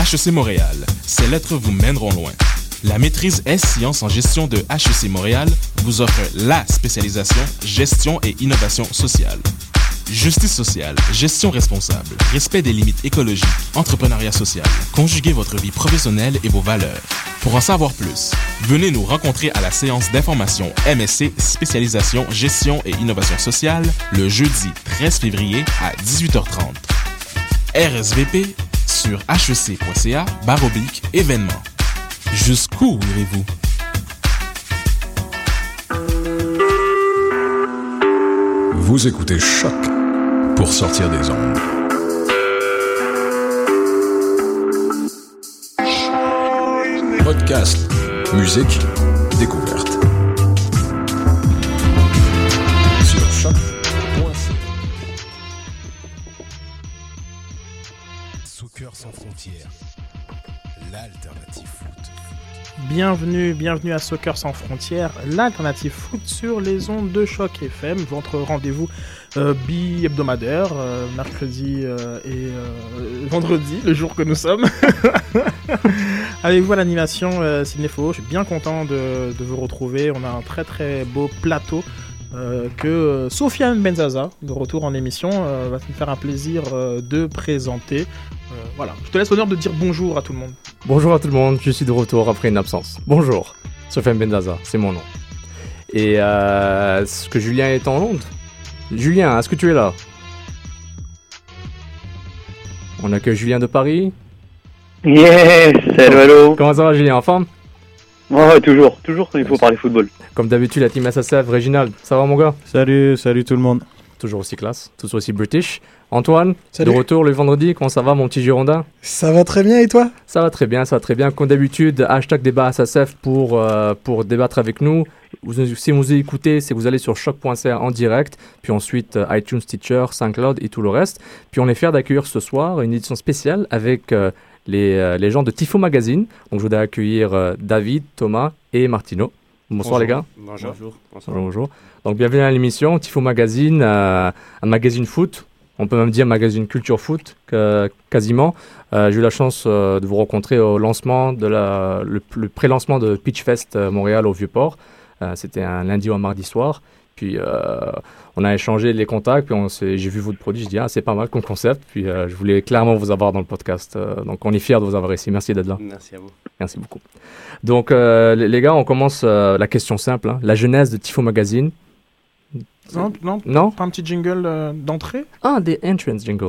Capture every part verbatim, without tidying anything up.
H E C Montréal, ces lettres vous mèneront loin. La maîtrise S-Sciences en gestion de H E C Montréal vous offre la spécialisation gestion et innovation sociale. Justice sociale, gestion responsable, respect des limites écologiques, entrepreneuriat social. Conjuguez votre vie professionnelle et vos valeurs. Pour en savoir plus, venez nous rencontrer à la séance d'information M S C spécialisation gestion et innovation sociale le jeudi treize février à dix-huit heures trente. R S V P sur H E C point C A barre oblique événements. Jusqu'où irez-vous? Vous écoutez Choc pour sortir des ondes. Podcast, musique, découverte. Sur choc point c a. Soccer sans frontières, l'alternative foot. Bienvenue, bienvenue à Soccer sans frontières, l'alternative foot sur les ondes de Choc F M, votre rendez-vous euh, bi-hebdomadaire, euh, mercredi euh, et euh, vendredi, le jour que nous sommes. Avec vous à l'animation euh, Cinépho, je suis bien content de, de vous retrouver, on a un très très beau plateau. Euh, que euh, Sofiane Benzaza, de retour en émission, euh, va nous faire un plaisir euh, de présenter. Euh, voilà, je te laisse l'honneur de dire bonjour à tout le monde. Bonjour à tout le monde, je suis de retour après une absence. Bonjour, Sofiane Benzaza, c'est mon nom. Et euh, est-ce que Julien est en Londres? Julien, est-ce que tu es là? On accueille Julien de Paris. Yes, salut, hello. Comment ça va, Julien, en forme? Ouais, toujours, toujours, il faut parler football. Comme d'habitude, la team S S F, Réginald, ça va mon gars? Salut, salut tout le monde. Toujours aussi classe, toujours aussi british. Antoine, salut. De retour le vendredi, comment ça va mon petit Girondin? Ça va très bien et toi? Ça va très bien, ça va très bien. Comme d'habitude, hashtag débat S S F pour, euh, pour débattre avec nous. Vous, si vous écoutez, c'est que vous allez sur choc point c a en direct, puis ensuite euh, iTunes, Stitcher, SoundCloud et tout le reste. Puis on est fiers d'accueillir ce soir une édition spéciale avec euh, les, euh, les gens de Tifo Magazine. Donc je voudrais accueillir euh, David, Thomas et Martino. Bonsoir bonjour. Les gars. Bonjour. Bonjour. Bonjour. Bonjour. Donc bienvenue à l'émission Tifo Magazine, euh, un magazine foot. On peut même dire magazine culture foot, que, quasiment. Euh, j'ai eu la chance euh, de vous rencontrer au lancement, de la, le, le pré-lancement de Pitchfest euh, Montréal au Vieux-Port. Euh, c'était un lundi ou un mardi soir. Puis euh, on a échangé les contacts, puis on s'est, j'ai vu votre produit, je dis ah c'est pas mal comme concept. Puis euh, je voulais clairement vous avoir dans le podcast. Euh, donc on est fiers de vous avoir ici. Merci d'être là. Merci à vous. Merci beaucoup. Donc euh, les, les gars, on commence euh, la question simple, hein, la genèse de Tifo Magazine. Non, non, non, pas un petit jingle euh, d'entrée? Ah, des entrance jingle.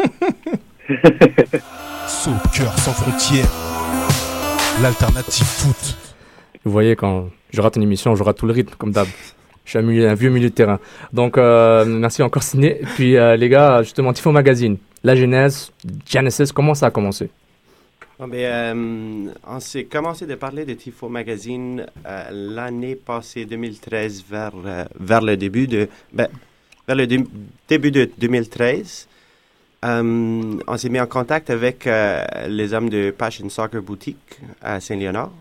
Soccer sans frontières, l'alternative foot. Vous voyez, quand je rate une émission, je rate tout le rythme, comme d'hab. Je suis un, milieu, un vieux milieu de terrain. Donc, euh, merci encore, Ciné. Puis, euh, les gars, justement, Tifo Magazine, la genèse, Genesis, comment ça a commencé? Oh, ben, euh, on s'est commencé de parler de Tifo Magazine euh, l'année passée, deux mille treize, vers, euh, vers le début de, ben, vers le dé- début de deux mille treize. Euh, on s'est mis en contact avec euh, les hommes de Passion Soccer Boutique à Saint-Léonard.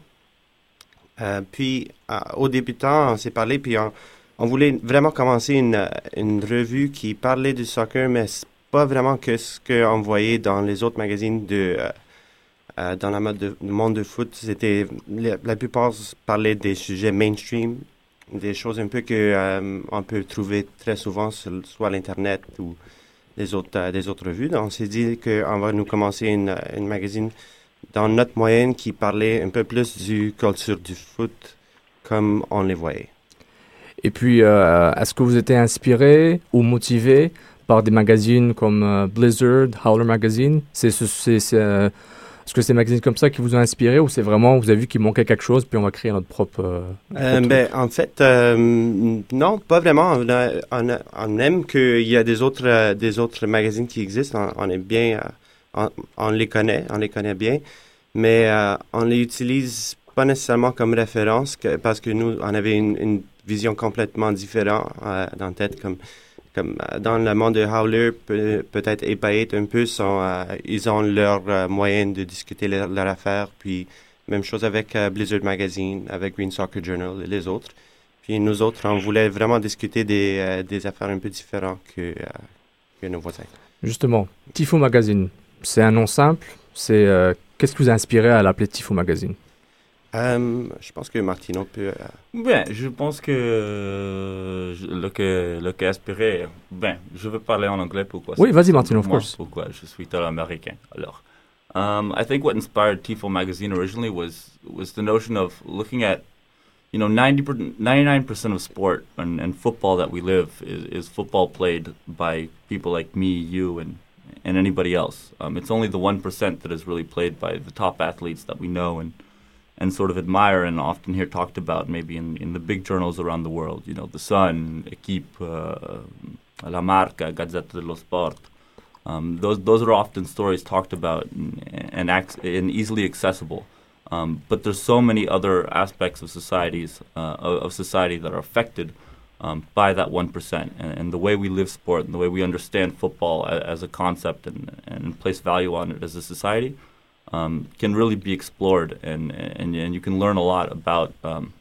Euh, puis, euh, au débutant, on s'est parlé, puis on, on voulait vraiment commencer une, une revue qui parlait du soccer, mais c'est pas vraiment que ce qu'on voyait dans les autres magazines de, euh, euh, dans la mode de, le monde de foot. C'était, la, la plupart parlaient des sujets mainstream, des choses un peu que euh, on peut trouver très souvent sur soit à l'internet ou des autres, euh, des autres revues. Donc, on s'est dit qu'on va nous commencer une, une magazine dans notre moyenne qui parlait un peu plus du culture du foot comme on les voyait. Et puis, euh, est-ce que vous étiez inspiré ou motivé par des magazines comme euh, Blizzard, Howler Magazine? C'est, c'est, c'est, c'est, euh, est-ce que c'est des magazines comme ça qui vous ont inspiré ou c'est vraiment, vous avez vu qu'il manquait quelque chose puis on va créer notre propre... Euh, euh, ben, en fait, euh, non, pas vraiment. On, a, on, a, on aime qu'il y a des autres, euh, des autres magazines qui existent. On, on est bien... Euh, On, on les connaît, on les connaît bien, mais euh, on les utilise pas nécessairement comme référence que, parce que nous, on avait une, une vision complètement différente euh, dans la tête. Comme, comme euh, dans le monde de Howler, peut, peut-être Épayette un peu, sont, euh, ils ont leur euh, moyen de discuter leur, leur affaire. Puis même chose avec euh, Blizzard Magazine, avec Green Soccer Journal et les autres. Puis nous autres, on voulait vraiment discuter des, euh, des affaires un peu différentes que, euh, que nos voisins. Justement, Tifo Magazine. c'est un nom simple. C'est, euh, qu'est-ce qui vous a inspiré à l'appeler Tifo Magazine? Euh, je pense que Martino peut... Euh... Ben, je pense que euh, le que le que inspiré... Ben, je veux parler en anglais, pourquoi? Oui, vas-y Martino, of course. Pourquoi? Je suis américain, alors. Um, I think what inspired Tifo Magazine originally was was the notion of looking at, you know, ninety, ninety-nine percent of sport and, and football that we live is, is football played by people like me, you, and and anybody else. Um, it's only the one percent that is really played by the top athletes that we know and and sort of admire and often hear talked about maybe in, in the big journals around the world. You know, The Sun, Equipe, uh, La Marca, Gazzetta dello Sport. Um, those those are often stories talked about and, and, ac- and easily accessible. Um, but there's so many other aspects of societies uh, of, of society that are affected um, by that one percent, and, and the way we live sport and the way we understand football as, as a concept and, and place value on it as a society um, can really be explored, and, and and you can learn a lot about um,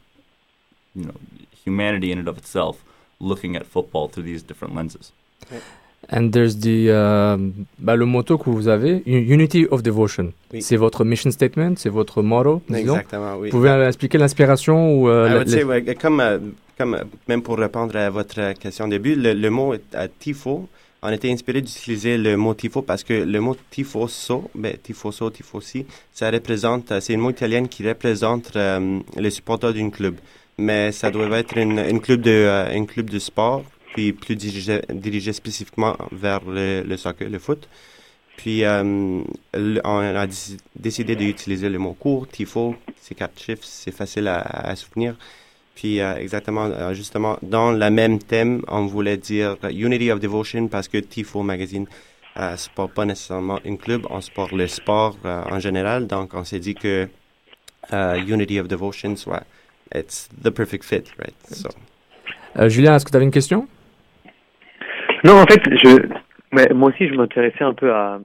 you know humanity in and of itself, looking at football through these different lenses. Okay. And there's the uh, bah, le motto que vous avez, Unity of Devotion. Oui. C'est votre mission statement, c'est votre motto. Exactement, oui. Vous pouvez euh, expliquer l'inspiration ou euh, I would les... say, ouais, comme euh, comme euh, même pour répondre à votre question au début, le, le mot euh, tifo, on était inspiré d'utiliser le mot tifo parce que le mot tifoso, ben tifoso, tifosi, ça représente, c'est une mot italienne qui représente euh, les supporters d'un club, mais ça doit être une, une club de euh, une club de sport. Puis plus dirigé, dirigé spécifiquement vers le, le soccer, le foot. Puis euh, le, on a d- décidé d'utiliser le mot court, tifo, c'est quatre chiffres, c'est facile à, à souvenir. Puis euh, exactement, euh, justement, dans le même thème, on voulait dire Unity of Devotion parce que Tifo Magazine euh, supporte pas nécessairement un club, on supporte le sport euh, en général. Donc on s'est dit que euh, Unity of Devotion soit, it's the perfect fit, right? So. Euh, Julien, est-ce que tu avais une question? Non, en fait, je, mais moi aussi, je m'intéressais un peu à,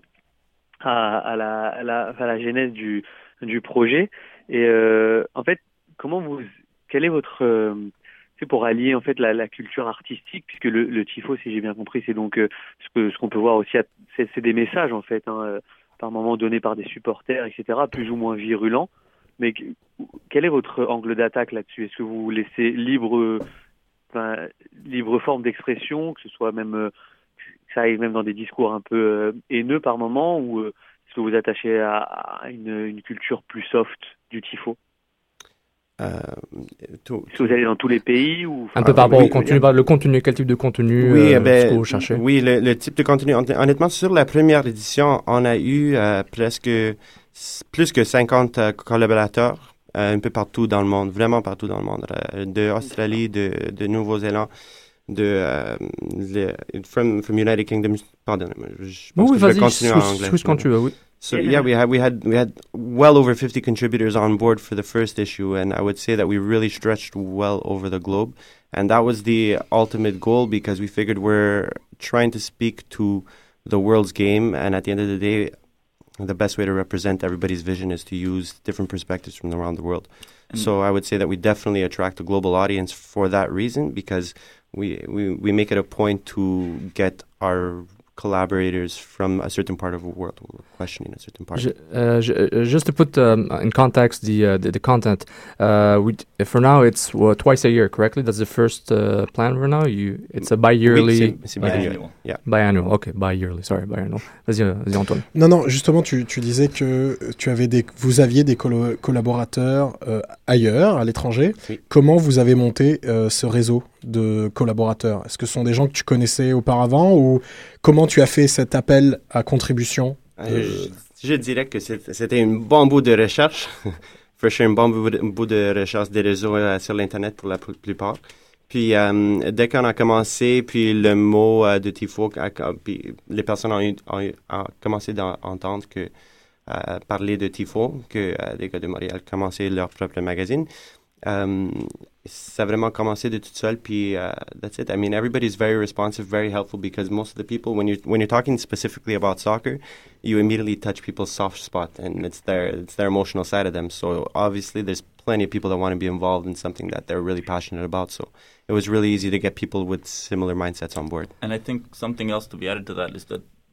à, à, la, à, la, à la genèse du, du projet. Et euh, en fait, comment vous, quel est votre, euh, c'est pour allier en fait la, la culture artistique, puisque le, le tifo, si j'ai bien compris, c'est donc euh, ce que ce qu'on peut voir aussi, à, c'est, c'est des messages en fait, hein, euh, par moment donnés par des supporters, et cetera, plus ou moins virulents. Mais quel est votre angle d'attaque là-dessus? Est-ce que vous laissez libre Enfin, libre forme d'expression, que ce soit même euh, que ça arrive même dans des discours un peu euh, haineux par moment, ou euh, est-ce que vous attachez à, à une, une culture plus soft du tifo? Euh, tout, est-ce que vous allez dans tous les pays ou un peu par rapport oui, au contenu, le contenu, quel type de contenu oui, euh, ben, ce que vous cherchez? Oui, le, le type de contenu. Honnêtement, sur la première édition, on a eu euh, presque plus que cinquante euh, collaborateurs. Euh, un peu partout dans le monde, vraiment partout dans le monde, euh, de Australie, de, de Nouveau-Zélande, de euh, le, from from United Kingdom. Pardon, je pense oui, que je vais continuer en anglais. Switch quand tu veux, oui. So yeah, we had we had we had well over fifty contributors on board for the first issue, and I would say that we really stretched well over the globe, and that was the ultimate goal because we figured we're trying to speak to the world's game, and at the end of the day, the best way to represent everybody's vision is to use different perspectives from around the world. Mm. So I would say that we definitely attract a global audience for that reason because we, we, we make it a point to get our collaborators from a certain part of the world. We're questioning a certain part. Je, uh, je, just to put um, in context the, uh, the the content, uh, we for now it's well, twice a year, correctly? That's the first uh, plan for now. You, it's a bi-yearly. Oui, c'est, c'est biannual. Yeah. Biannual. Okay, bi-yearly. Sorry, biannual. Vas-y, vas-y, Antoine. Non, non. Justement, tu, tu disais que tu avais des, vous aviez des colo- collaborateurs euh, ailleurs, à l'étranger. Oui. Comment vous avez monté euh, ce réseau de collaborateurs? Est-ce que ce sont des gens que tu connaissais auparavant ou comment tu as fait cet appel à contribution? Euh, je, je dirais que c'était un bon bout de recherche. For sure, un bon bout de, bout de recherche des réseaux euh, sur l'Internet pour la plupart. Puis, euh, dès qu'on a commencé, puis le mot euh, de tifo, a, a, puis les personnes ont, eu, ont, eu, ont commencé à entendre que, euh, parler de tifo, que euh, les gars de Montréal commençaient leur propre magazine. Um, ça a vraiment commencé de tout seul, puis uh, that's it. I mean, everybody's very responsive, very helpful, because most of the people, when you're, when you're talking specifically about soccer, you immediately touch people's soft spot, and it's their, it's their emotional side of them. So obviously there's plenty of people that want to be involved in something that they're really passionate about. So it was really easy to get people with similar mindsets on board. And I think something else to be added to that is that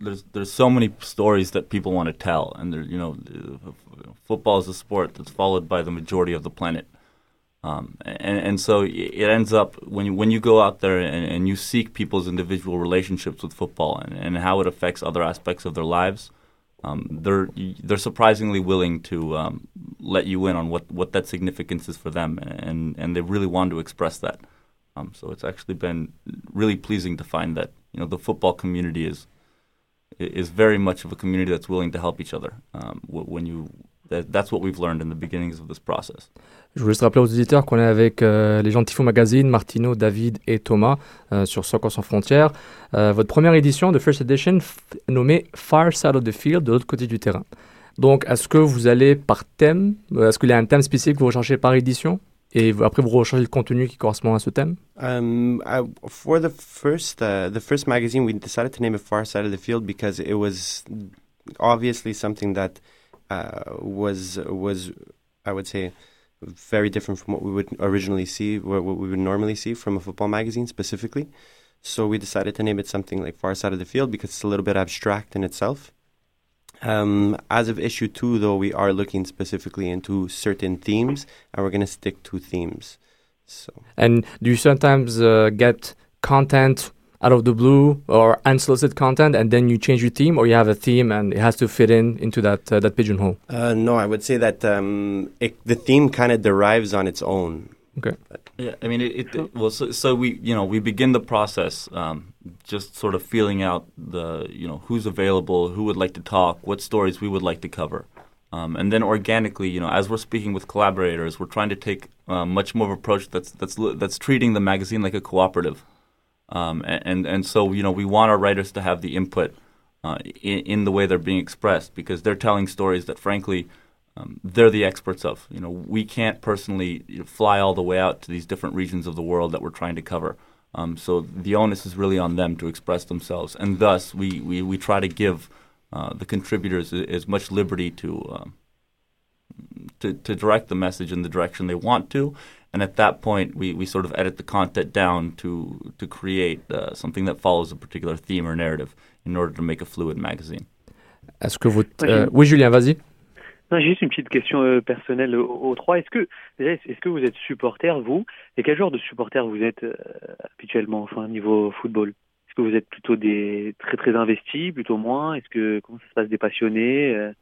there's there's so many stories that people want to tell, and there, you know, football is a sport that's followed by the majority of the planet, um, and and so it ends up when you when you go out there and, and you seek people's individual relationships with football and, and how it affects other aspects of their lives, um, they're they're surprisingly willing to um, let you in on what, what that significance is for them, and and they really want to express that. Um, so it's actually been really pleasing to find that, you know, the football community is is very much of a community that's willing to help each other. Um, when you, that, that's what we've learned in the beginnings of this process. Je voulais juste rappeler aux auditeurs qu'on est avec euh, les gens de Tifo Magazine, Martino, David et Thomas euh, sur Soccer Sans Frontières. Euh, votre première édition, The First Edition, f- nommée Far Side of the Field, de l'autre côté du terrain. Donc, est-ce que vous allez par thème? Est-ce qu'il y a un thème spécifique que vous recherchez par édition? Et après, vous recherchez le contenu qui correspond à ce thème? Um, I, for the first, uh, the first magazine, we decided to name it Far Side of the Field because it was obviously something that uh, was was, I would say, very different from what we would originally see, what, what we would normally see from a football magazine specifically. So we decided to name it something like Far Side of the Field because it's a little bit abstract in itself. Um, as of issue two, though, we are looking specifically into certain themes, and we're going to stick to themes. So. And do you sometimes uh, get content out of the blue or unsolicited content, and then you change your theme, or you have a theme and it has to fit in into that uh, that pigeonhole? Uh, no, I would say that um, it, the theme kind of derives on its own. Okay. Yeah, I mean, it, it, it well, so, so we, you know, we begin the process um, just sort of feeling out the, you know, who's available, who would like to talk, what stories we would like to cover. Um, and then organically, you know, as we're speaking with collaborators, we're trying to take uh, much more of an approach that's, that's, that's treating the magazine like a cooperative. Um, and, and so, you know, we want our writers to have the input uh, in, in the way they're being expressed, because they're telling stories that, frankly, Um, they're the experts of. You know, we can't personally you know, fly all the way out to these different regions of the world that we're trying to cover. Um, so the onus is really on them to express themselves, and thus we, we, we try to give uh, the contributors as much liberty to, um, to to direct the message in the direction they want to, and at that point we, we sort of edit the content down to to create uh, something that follows a particular theme or narrative in order to make a fluid magazine. Est-ce que vous... Euh, oui, Julien, vas-y. Non, j'ai juste une petite question euh, personnelle aux, aux trois. Est-ce que déjà, est-ce que vous êtes supporter, vous? Et quel genre de supporter vous êtes euh, habituellement, enfin niveau football? Est-ce que vous êtes plutôt des très très investis, plutôt moins? Est-ce que comment ça se passe, des passionnés? euh...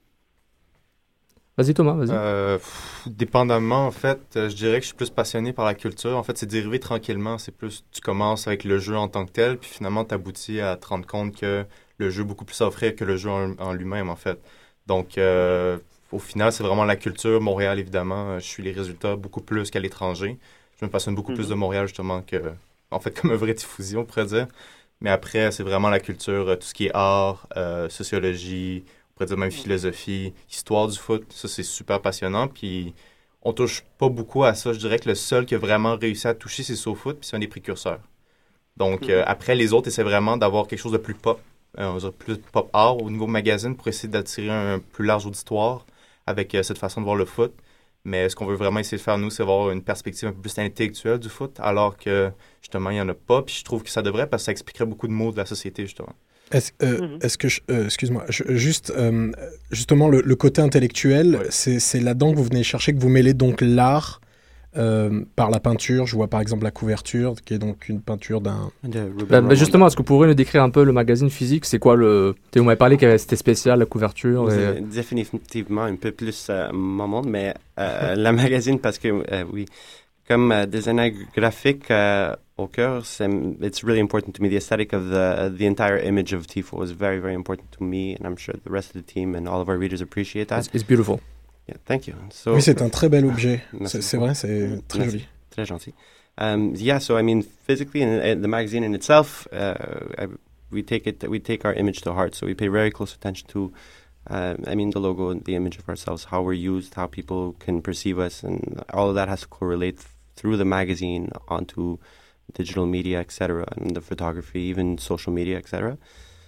Vas-y Thomas, vas-y. Euh, pff, dépendamment, en fait, euh, je dirais que je suis plus passionné par la culture. En fait, c'est dérivé tranquillement. C'est plus, tu commences avec le jeu en tant que tel, puis finalement, tu aboutis à te rendre compte que le jeu a beaucoup plus à offrir que le jeu en, en lui-même, en fait. Donc, euh, au final, c'est vraiment la culture. Montréal, évidemment, je suis les résultats beaucoup plus qu'à l'étranger. Je me passionne beaucoup mm-hmm. plus de Montréal, justement, que, en fait, comme un vrai tifosi, on pourrait dire. Mais après, c'est vraiment la culture, tout ce qui est art, euh, sociologie, on pourrait dire même philosophie, histoire du foot. Ça, c'est super passionnant. Puis, on touche pas beaucoup à ça. Je dirais que le seul qui a vraiment réussi à toucher, c'est SoFoot, puis c'est un des précurseurs. Donc, mm-hmm. euh, après, les autres essaient vraiment d'avoir quelque chose de plus pop, euh, on va dire plus pop art au niveau magazine pour essayer d'attirer un plus large auditoire avec euh, cette façon de voir le foot. Mais ce qu'on veut vraiment essayer de faire, nous, c'est avoir une perspective un peu plus intellectuelle du foot, alors que, justement, il n'y en a pas. Puis je trouve que ça devrait, parce que ça expliquerait beaucoup de mots de la société, justement. Est-ce, euh, mm-hmm. est-ce que, je, euh, excuse-moi, je, juste, euh, justement, le, le côté intellectuel, ouais. c'est, c'est là-dedans que vous venez chercher, que vous mêlez donc l'art euh, par la peinture. Je vois par exemple la couverture, qui est donc une peinture d'un... Bah, bah justement, est-ce que vous pourriez nous décrire un peu le magazine physique? C'est quoi le... Vous m'avez parlé que c'était spécial, la couverture. C'est et... définitivement un peu plus euh, mon monde, mais euh, la magazine, parce que, euh, oui, comme euh, designer graphique euh, au cœur, c'est, it's really important to me. The aesthetic of the, the entire image of Tifo is very, very important to me, and I'm sure the rest of the team and all of our readers appreciate that. It's, it's beautiful. Yeah, thank you. So, oui, c'est un très bel objet. C'est, c'est vrai, c'est très Merci. joli. Très gentil. Um, yeah, so I mean, physically, in, in the magazine in itself, uh, I, we take it, we take our image to heart. So we pay very close attention to, uh, I mean, the logo and the image of ourselves, how we're used, how people can perceive us, and all of that has to correlate through the magazine onto digital media, et cetera, and the photography, even social media, et cetera.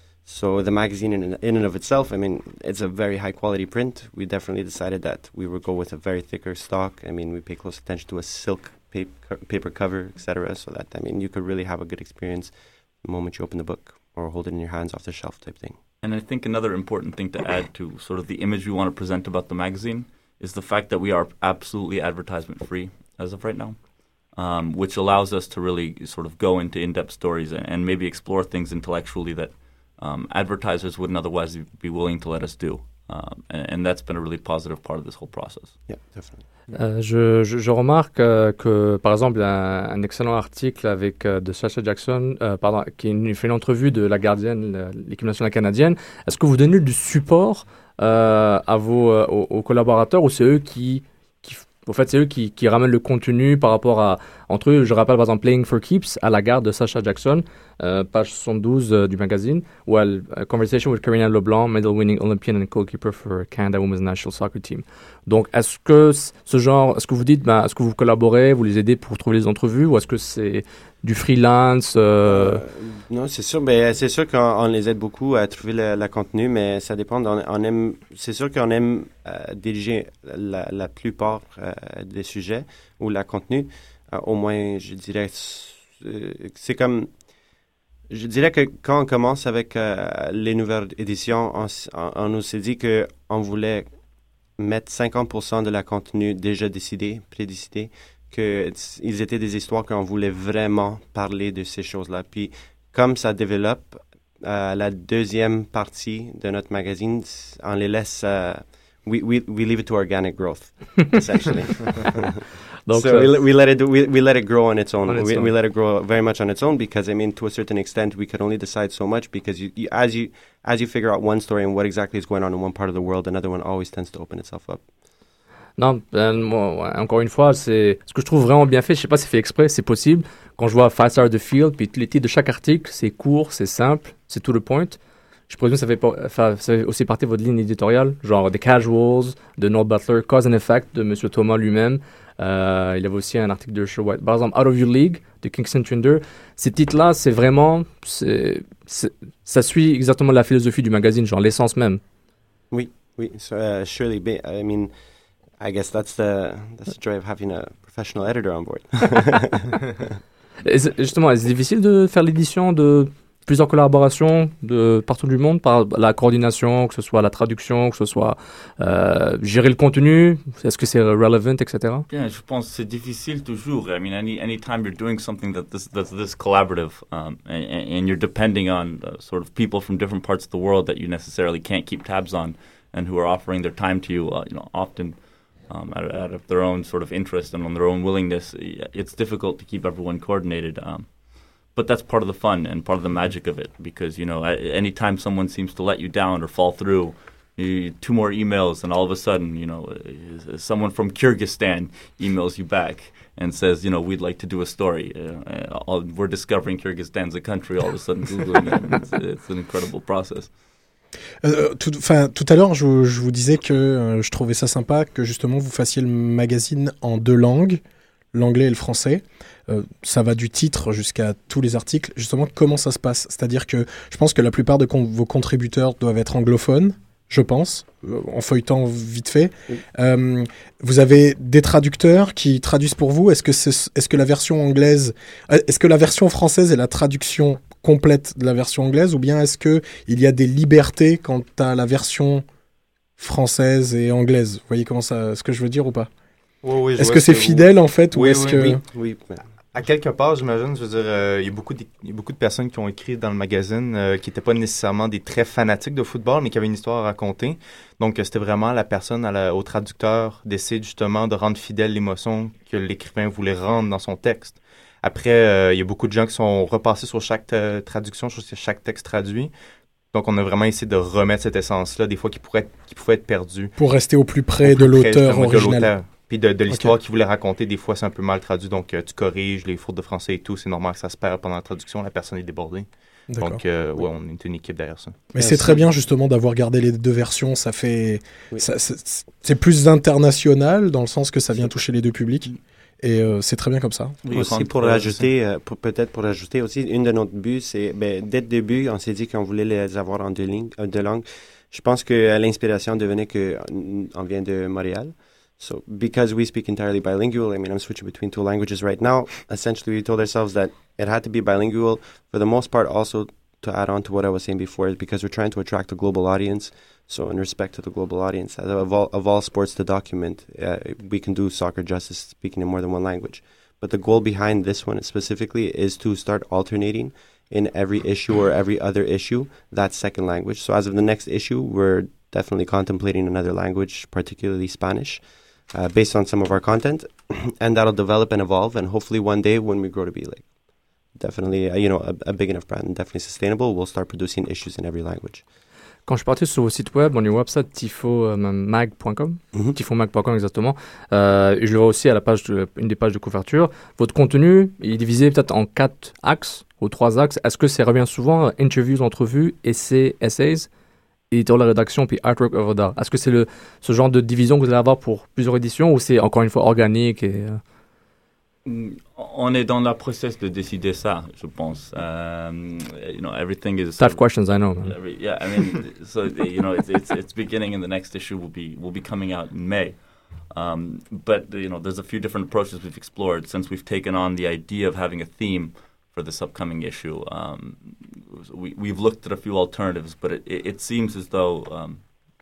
So the magazine in, in and of itself, I mean, it's a very high quality print. We definitely decided that we would go with a very thicker stock. I mean, we pay close attention to a silk paper, paper cover, et cetera, so that, I mean, you could really have a good experience the moment you open the book. or hold it in your hands off the shelf type thing. And I think another important thing to add to sort of the image we want to present about the magazine is the fact that we are absolutely advertisement free as of right now, um, which allows us to really sort of go into in-depth stories and, and maybe explore things intellectually that um, advertisers wouldn't otherwise be willing to let us do. Um, and, and that's been a really positive part of this whole process. Yeah, definitely. Euh, je, je, je remarque euh, que, par exemple, il y a un, un excellent article avec euh, de Sacha Jackson, euh, pardon, qui une, fait une entrevue de la gardienne, l'équipe nationale canadienne. Est-ce que vous donnez du support euh, à vos, euh, aux, aux collaborateurs, ou c'est eux qui, qui en fait, c'est eux qui, qui ramènent le contenu par rapport à, entre eux, je rappelle par exemple Playing for Keeps à la garde de Sacha Jackson, euh, page soixante-douze euh, du magazine, où elle, a conversation with Karina Leblanc, medal-winning Olympian and goalkeeper for Canada Women's National Soccer Team. Donc, est-ce que ce genre, est-ce que vous dites, ben, est-ce que vous collaborez, vous les aidez pour trouver les entrevues, ou est-ce que c'est du freelance euh... Euh, Non, c'est sûr. Ben, c'est sûr qu'on on les aide beaucoup à trouver le, le contenu, mais ça dépend. On, on aime, c'est sûr qu'on aime euh, diriger la, la plupart euh, des sujets ou le contenu. Euh, au moins, je dirais, euh, c'est comme, je dirais que quand on commence avec euh, les nouvelles éditions, on, on, on nous s'est dit que on voulait mettre cinquante pour cent de la contenu déjà décidé, prédécidé, qu'ils étaient des histoires qu'on voulait vraiment parler de ces choses-là. Puis, comme ça développe, euh, la deuxième partie de notre magazine, on les laisse, uh, we, we, we leave it to organic growth, essentially. Donc, so we, we let it we, we let it grow on its own. On its we, own. we let it grow very much on its own because, I mean, to a certain extent, we could only decide so much because you, you, as you as you figure out one story and what exactly is going on in one part of the world, another one always tends to open itself up. Non, euh, moi, ouais, encore une fois, c'est ce que je trouve vraiment bien fait. Je sais pas si c'est fait exprès, c'est possible. Quand je vois Five Star the Field, puis les titres de chaque article, c'est court, c'est simple, c'est to the point. Je présume que ça fait, pas, ça fait aussi partie de votre ligne éditoriale, genre The Casuals, de Noel Butler, Cause and Effect de M. Thomas lui-même. Euh, il y avait aussi un article de Sher White. Par exemple, Out of Your League de Kingston Thunder. Ces titres-là, c'est vraiment, c'est, c'est, ça suit exactement la philosophie du magazine, genre l'essence même. Oui, oui, so, uh, surely. I mean, I guess that's the that's the joy of having a professional editor on board. Justement, c'est difficile de faire l'édition de plusieurs collaborations de partout du monde, par la coordination, que ce soit la traduction, que ce soit euh, gérer le contenu, est-ce que c'est relevant, et cetera. Bien, je pense que c'est difficile toujours. I mean, any anytime you're doing something that this, that's this collaborative, um, and, and you're depending on uh, sort of people from different parts of the world that you necessarily can't keep tabs on, and who are offering their time to you, uh, you know, often um, out, out of their own sort of interest and on their own willingness, it's difficult to keep everyone coordinated. Um, But that's part of the fun and part of the magic of it because, you know, anytime someone seems to let you down or fall through, you, two more emails and all of a sudden, you know, someone from Kyrgyzstan emails you back and says, you know, we'd like to do a story. Uh, all, we're discovering Kyrgyzstan's a country all of a sudden, Googling it. It's, it's an incredible process. Euh, tout, tout à l'heure, je, je vous disais que euh, je trouvais ça sympa que justement vous fassiez le magazine en deux langues, l'anglais et le français. Euh, ça va du titre jusqu'à tous les articles. Justement, comment ça se passe ? C'est-à-dire que je pense que la plupart de con- vos contributeurs doivent être anglophones, je pense, euh, en feuilletant vite fait. Oui. Euh, vous avez des traducteurs qui traduisent pour vous. Est-ce que, c'est, est-ce que la version anglaise, est-ce que la version française est la traduction complète de la version anglaise, ou bien est-ce que il y a des libertés quant à la version française et anglaise ? Vous voyez comment ça, ce que je veux dire ou pas ? Oui, oui, est-ce que c'est fidèle en fait oui, ou est-ce oui, que... oui, oui. À quelque part, j'imagine, je veux dire, euh, il y a beaucoup de, il y a beaucoup de personnes qui ont écrit dans le magazine euh, qui n'étaient pas nécessairement des très fanatiques de football, mais qui avaient une histoire à raconter. Donc, euh, c'était vraiment la personne, à la, au traducteur, d'essayer justement de rendre fidèle l'émotion que l'écrivain voulait rendre dans son texte. Après, euh, il y a beaucoup de gens qui sont repassés sur chaque euh, traduction, sur chaque texte traduit. Donc, on a vraiment essayé de remettre cette essence-là, des fois qui pourrait être, qui pouvait être perdue. Pour rester au plus près, au plus de, près l'auteur de l'auteur original. Puis de, de l'histoire okay. qu'il voulait raconter, des fois c'est un peu mal traduit, donc euh, tu corriges les fautes de français et tout, c'est normal que ça se perd pendant la traduction, la personne est débordée. D'accord. Donc euh, ouais, on est une équipe derrière ça. Mais c'est très bien justement d'avoir gardé les deux versions, ça fait, oui. ça, c'est, c'est plus international dans le sens que ça vient toucher les deux publics. Et euh, c'est très bien comme ça. Oui, aussi pour rajouter, euh, pour, peut-être pour rajouter aussi, une de nos buts, c'est, ben, dès le début, on s'est dit qu'on voulait les avoir en deux, lignes, euh, deux langues. Je pense que l'inspiration devenait qu'on vient de Montréal. So because we speak entirely bilingual, I mean, I'm switching between two languages right now. Essentially, we told ourselves that it had to be bilingual. For the most part, also to add on to what I was saying before, is because we're trying to attract a global audience. So in respect to the global audience, of all, of all sports to document, uh, we can do soccer justice speaking in more than one language. But the goal behind this one specifically is to start alternating in every issue or every other issue that second language. So as of the next issue, we're definitely contemplating another language, particularly Spanish, uh, based on some of our content. And that'll develop and evolve. And hopefully one day when we grow to be like definitely, uh, you know, a, a big enough brand and definitely sustainable, we'll start producing issues in every language. Quand je suis parti sur vos sites web, on est website tifo mag point com, mm-hmm. tifo mag point com exactement, euh, et je le vois aussi à la page de, une des pages de couverture. Votre contenu il est divisé peut-être en quatre axes, ou trois axes. Est-ce que ça revient souvent, interviews, entrevues, essais, essays, éditorial de rédaction, puis artwork œuvre d'art? Est-ce que c'est le, ce genre de division que vous allez avoir pour plusieurs éditions, ou c'est encore une fois organique et, euh... On est dans le process de décider ça, je pense. Um, you know, everything is tough questions, I know. Every, yeah, I mean, so you know, it's, it's it's beginning, and the next issue will be will be coming out in May. Um, but you know, there's a few different approaches we've explored since we've taken on the idea of having a theme for this upcoming issue. Um, we we've looked at a few alternatives, but it it, it seems as though um,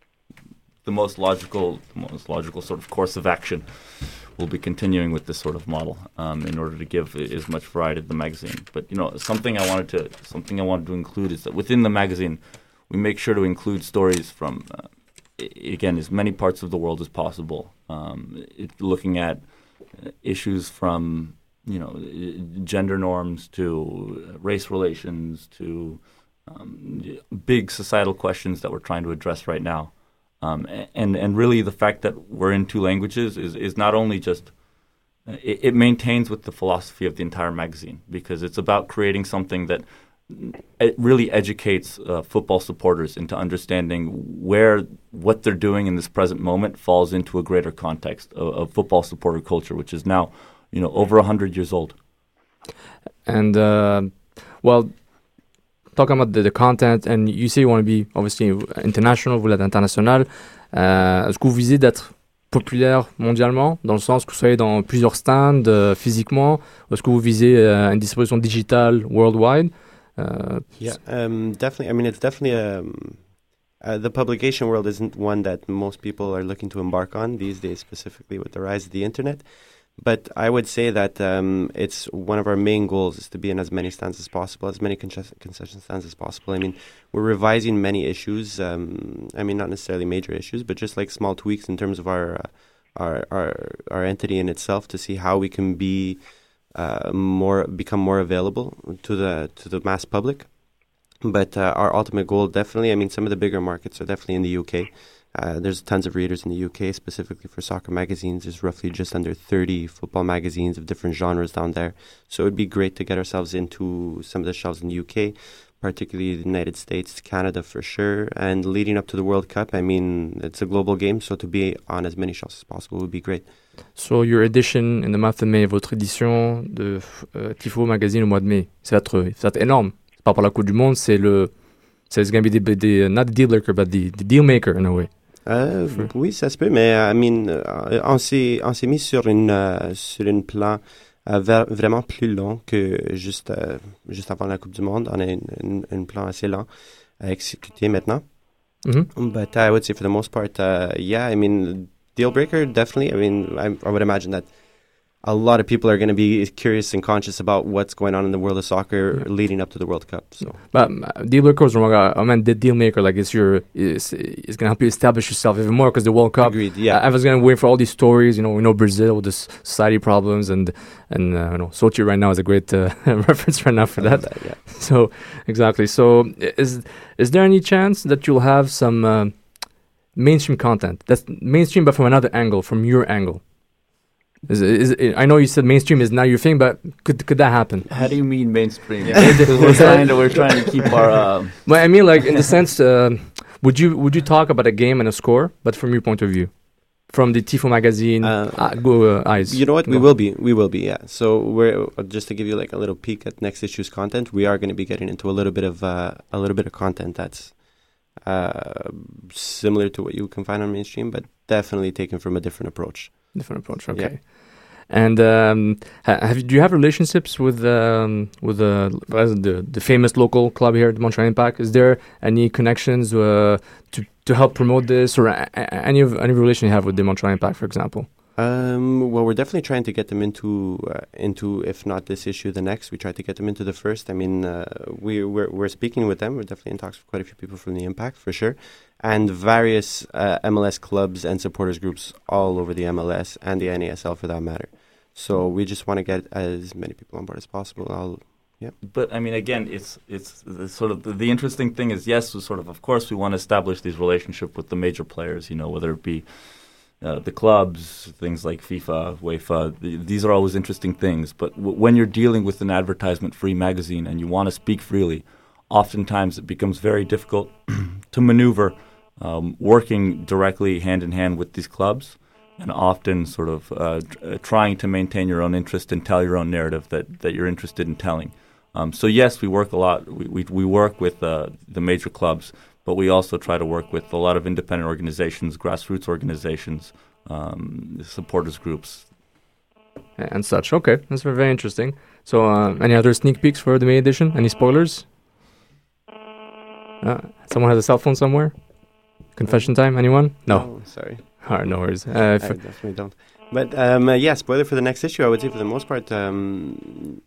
the most logical, the most logical sort of course of action will be continuing with this sort of model um, in order to give as much variety to the magazine. But you know, something I wanted to something I wanted to include is that within the magazine, we make sure to include stories from uh, again as many parts of the world as possible. Um, it, looking at issues from you know gender norms to race relations to um, big societal questions that we're trying to address right now. Um, and and really the fact that we're in two languages is, is not only just, it, it maintains with the philosophy of the entire magazine, because it's about creating something that it really educates uh, football supporters into understanding where what they're doing in this present moment falls into a greater context of, of football supporter culture, which is now, you know, over one hundred years old. And, uh, well... Talking about the, the content, and you say you want to be obviously international, vous l'êtes international. Euh, est-ce que vous visez d'être populaire mondialement, dans le sens que vous soyez dans plusieurs stands euh, physiquement, ou est-ce que vous visez euh, une distribution digitale worldwide? Uh, yeah, um, definitely. I mean, it's definitely um, uh, the publication world isn't one that most people are looking to embark on these days, specifically with the rise of the internet. But I would say that um, it's one of our main goals is to be in as many stands as possible, as many concession, concession stands as possible. I mean, we're revising many issues. Um, I mean, not necessarily major issues, but just like small tweaks in terms of our uh, our, our our entity in itself to see how we can be uh, more become more available to the to the mass public. But uh, our ultimate goal, definitely, I mean, some of the bigger markets are definitely in the U K. Uh, there's tons of readers in the U K, specifically for soccer magazines. There's roughly just under thirty football magazines of different genres down there. So it would be great to get ourselves into some of the shelves in the U K, particularly the United States, Canada for sure. And leading up to the World Cup, I mean, it's a global game, so to be on as many shelves as possible would be great. So your edition in the month of May, votre édition de uh, Tifo Magazine au mois de mai, ça va être, ça va être énorme. Par rapport à la Coupe du Monde, c'est le... So it's going to be the, the, not the deal breaker, but the, the deal maker in a way. Euh, oui, ça se peut, mais I mean, euh, on s'est on s'est mis sur une euh, sur une plan euh, ver- vraiment plus long que juste euh, juste avant la Coupe du Monde. On a une, une, une plan assez lent à exécuter maintenant. Mm-hmm. But I would say for the most part, uh, yeah, I mean, deal breaker definitely. I mean, I, I would imagine that a lot of people are going to be curious and conscious about what's going on in the world of soccer yeah. leading up to the World Cup. So, but uh, deal breaker is wrong. I mean, the deal maker, like it's your, it's, it's going to help you establish yourself even more because the World Cup. Agreed. Yeah, I, I was going to wait for all these stories. You know, we know Brazil with the society problems, and and uh, you know, Sochi right now is a great uh, reference right now for that. that. Yeah. So exactly. So is is there any chance that you'll have some uh, mainstream content that's mainstream, but from another angle, from your angle? Is, is, is, I know you said mainstream is not your thing, but could could that happen? How do you mean mainstream? Yeah. we're trying to we're trying to keep our. Uh, well, I mean, like in the sense, uh, would you would you talk about a game and a score, but from your point of view, from the Tifo magazine uh, uh, go, uh, eyes? You know what? We no. will be. We will be. Yeah. So we're uh, just to give you like a little peek at next issue's content. We are going to be getting into a little bit of uh, a little bit of content that's uh, similar to what you can find on mainstream, but definitely taken from a different approach. Different approach, okay. And um, ha- have you, do you have relationships with um, with the, the the famous local club here at Montreal Impact? Is there any connections uh, to to help promote this, or a- a- any of any relation you have with the Montreal Impact, for example? Um, well, we're definitely trying to get them into uh, into if not this issue, the next. We try to get them into the first. I mean, uh, we we're, we're speaking with them. We're definitely in talks with quite a few people from the Impact for sure, and various uh, M L S clubs and supporters groups all over the M L S and the N A S L for that matter. So we just want to get as many people on board as possible. I'll, yeah. But I mean, again, it's it's the sort of the, the interesting thing is yes, we sort of of course we want to establish these relationships with the major players. You know, whether it be uh, the clubs, things like FIFA, UEFA. The, these are always interesting things. But w- when you're dealing with an advertisement-free magazine and you want to speak freely, oftentimes it becomes very difficult to maneuver um, working directly hand in hand with these clubs. And often sort of uh, tr- uh, trying to maintain your own interest and tell your own narrative that, that you're interested in telling. Um, so yes, we work a lot. We we, we work with uh, the major clubs, but we also try to work with a lot of independent organizations, grassroots organizations, um, supporters groups. And such. Okay, that's very, very interesting. So uh, any other sneak peeks for the May edition? Any spoilers? Uh, someone has a cell phone somewhere? Confession time? Anyone? No. Oh, sorry. All right, no worries. Uh, I if, definitely don't. But um, uh, yeah, spoiler for the next issue. I would say for the most part, um,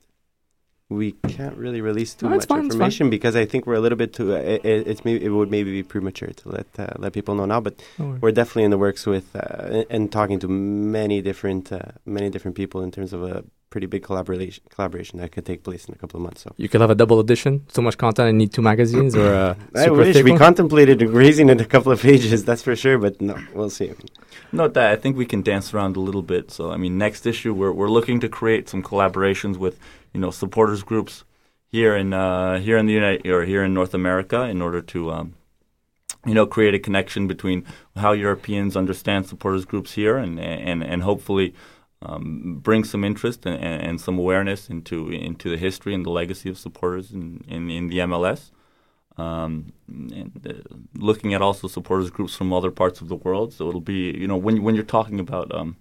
we can't really release too No, it's much fine, it's information because I think we're a little bit too. Uh, it, it's maybe it would maybe be premature to let uh, let people know now. But No worries. we're definitely in the works with uh, and talking to many different uh, many different people in terms of a pretty big collaboration collaboration that could take place in a couple of months. So you could have a double edition. So much content and need two magazines or a I super wish thick we one? contemplated raising it a couple of pages. That's for sure. But no, we'll see. Note that I think we can dance around a little bit. So I mean, next issue we're we're looking to create some collaborations with you know supporters groups here in uh, here in the United or here in North America in order to um, you know create a connection between how Europeans understand supporters groups here and and and hopefully um, bring some interest and, and some awareness into into the history and the legacy of supporters in in, in the M L S. Um, and uh, looking at also supporters groups from other parts of the world. So it'll be, you know, when when you're talking about um,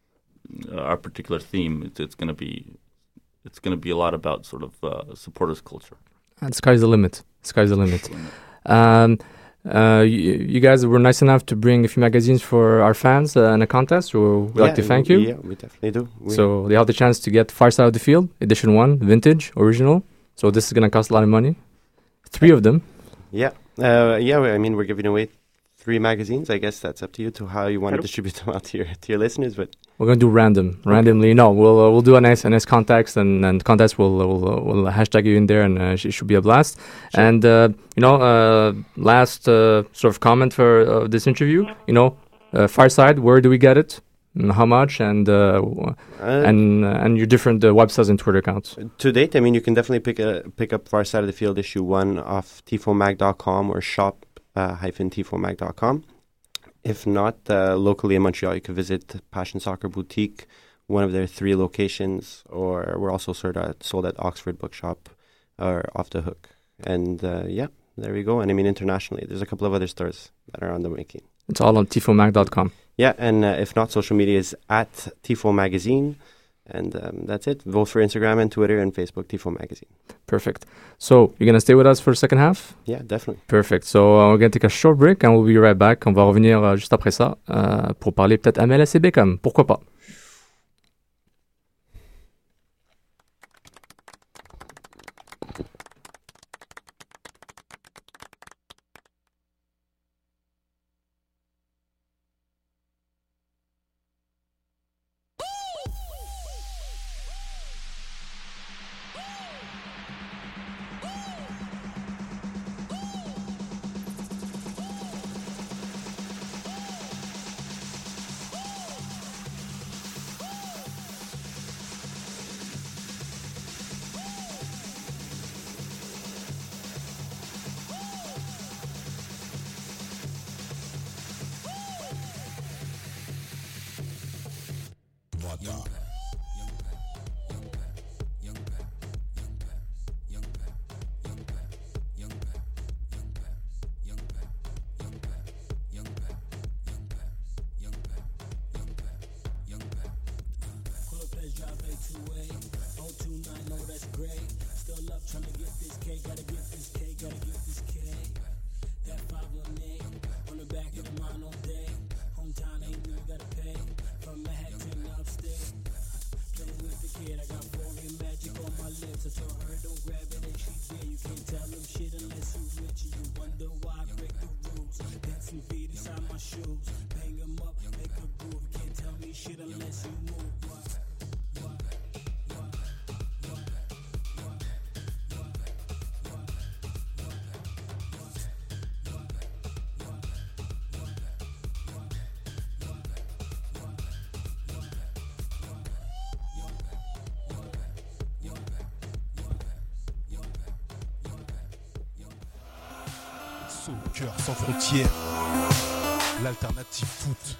our particular theme, it's, it's going to be it's going to be a lot about sort of uh, supporters culture. And sky's the limit. Sky's the limit. Um, uh, you, you guys were nice enough to bring a few magazines for our fans uh, in a contest. So we'd Yeah, like to thank we- you. Yeah, we definitely do. We- So they have the chance to get Far Side of the Field, edition one, vintage, original. So this is going to cost a lot of money. Three of them. Yeah, uh, yeah. I mean, we're giving away three magazines. I guess that's up to you to how you want to distribute them out to your to your listeners. But We're going to do random, randomly. No, we'll uh, we'll do a nice a nice context and and contest. We'll we'll uh, we'll hashtag you in there, and uh, it should be a blast. Sure. And uh, you know, uh, last uh, sort of comment for uh, this interview. You know, uh, Fireside. Where do we get it? And how much? And uh, w- Uh, and uh, and your different uh, websites and Twitter accounts. to date, I mean, you can definitely pick a pick up Far Side of the Field issue one off tifomag dot com or shop uh, hyphen tifomag dot com. If not, uh, locally in Montreal, you can visit Passion Soccer Boutique, one of their three locations, or we're also sold at, sold at Oxford Bookshop or Off the Hook. And uh, yeah, there we go. And I mean, internationally, there's a couple of other stores that are on the making. It's all on tifomag dot com. Yeah, and uh, if not, social media is at Tifo Magazine. And um, that's it. Vote for Instagram and Twitter and Facebook, Tifo Magazine. Perfect. So you're gonna stay with us for the second half? Yeah, definitely. Perfect. So uh, we're gonna take a short break and we'll be right back. On va revenir euh, juste après ça euh, pour parler peut-être M L S et Beckham. Pourquoi pas? Soccer sans frontières, l'alternative foot.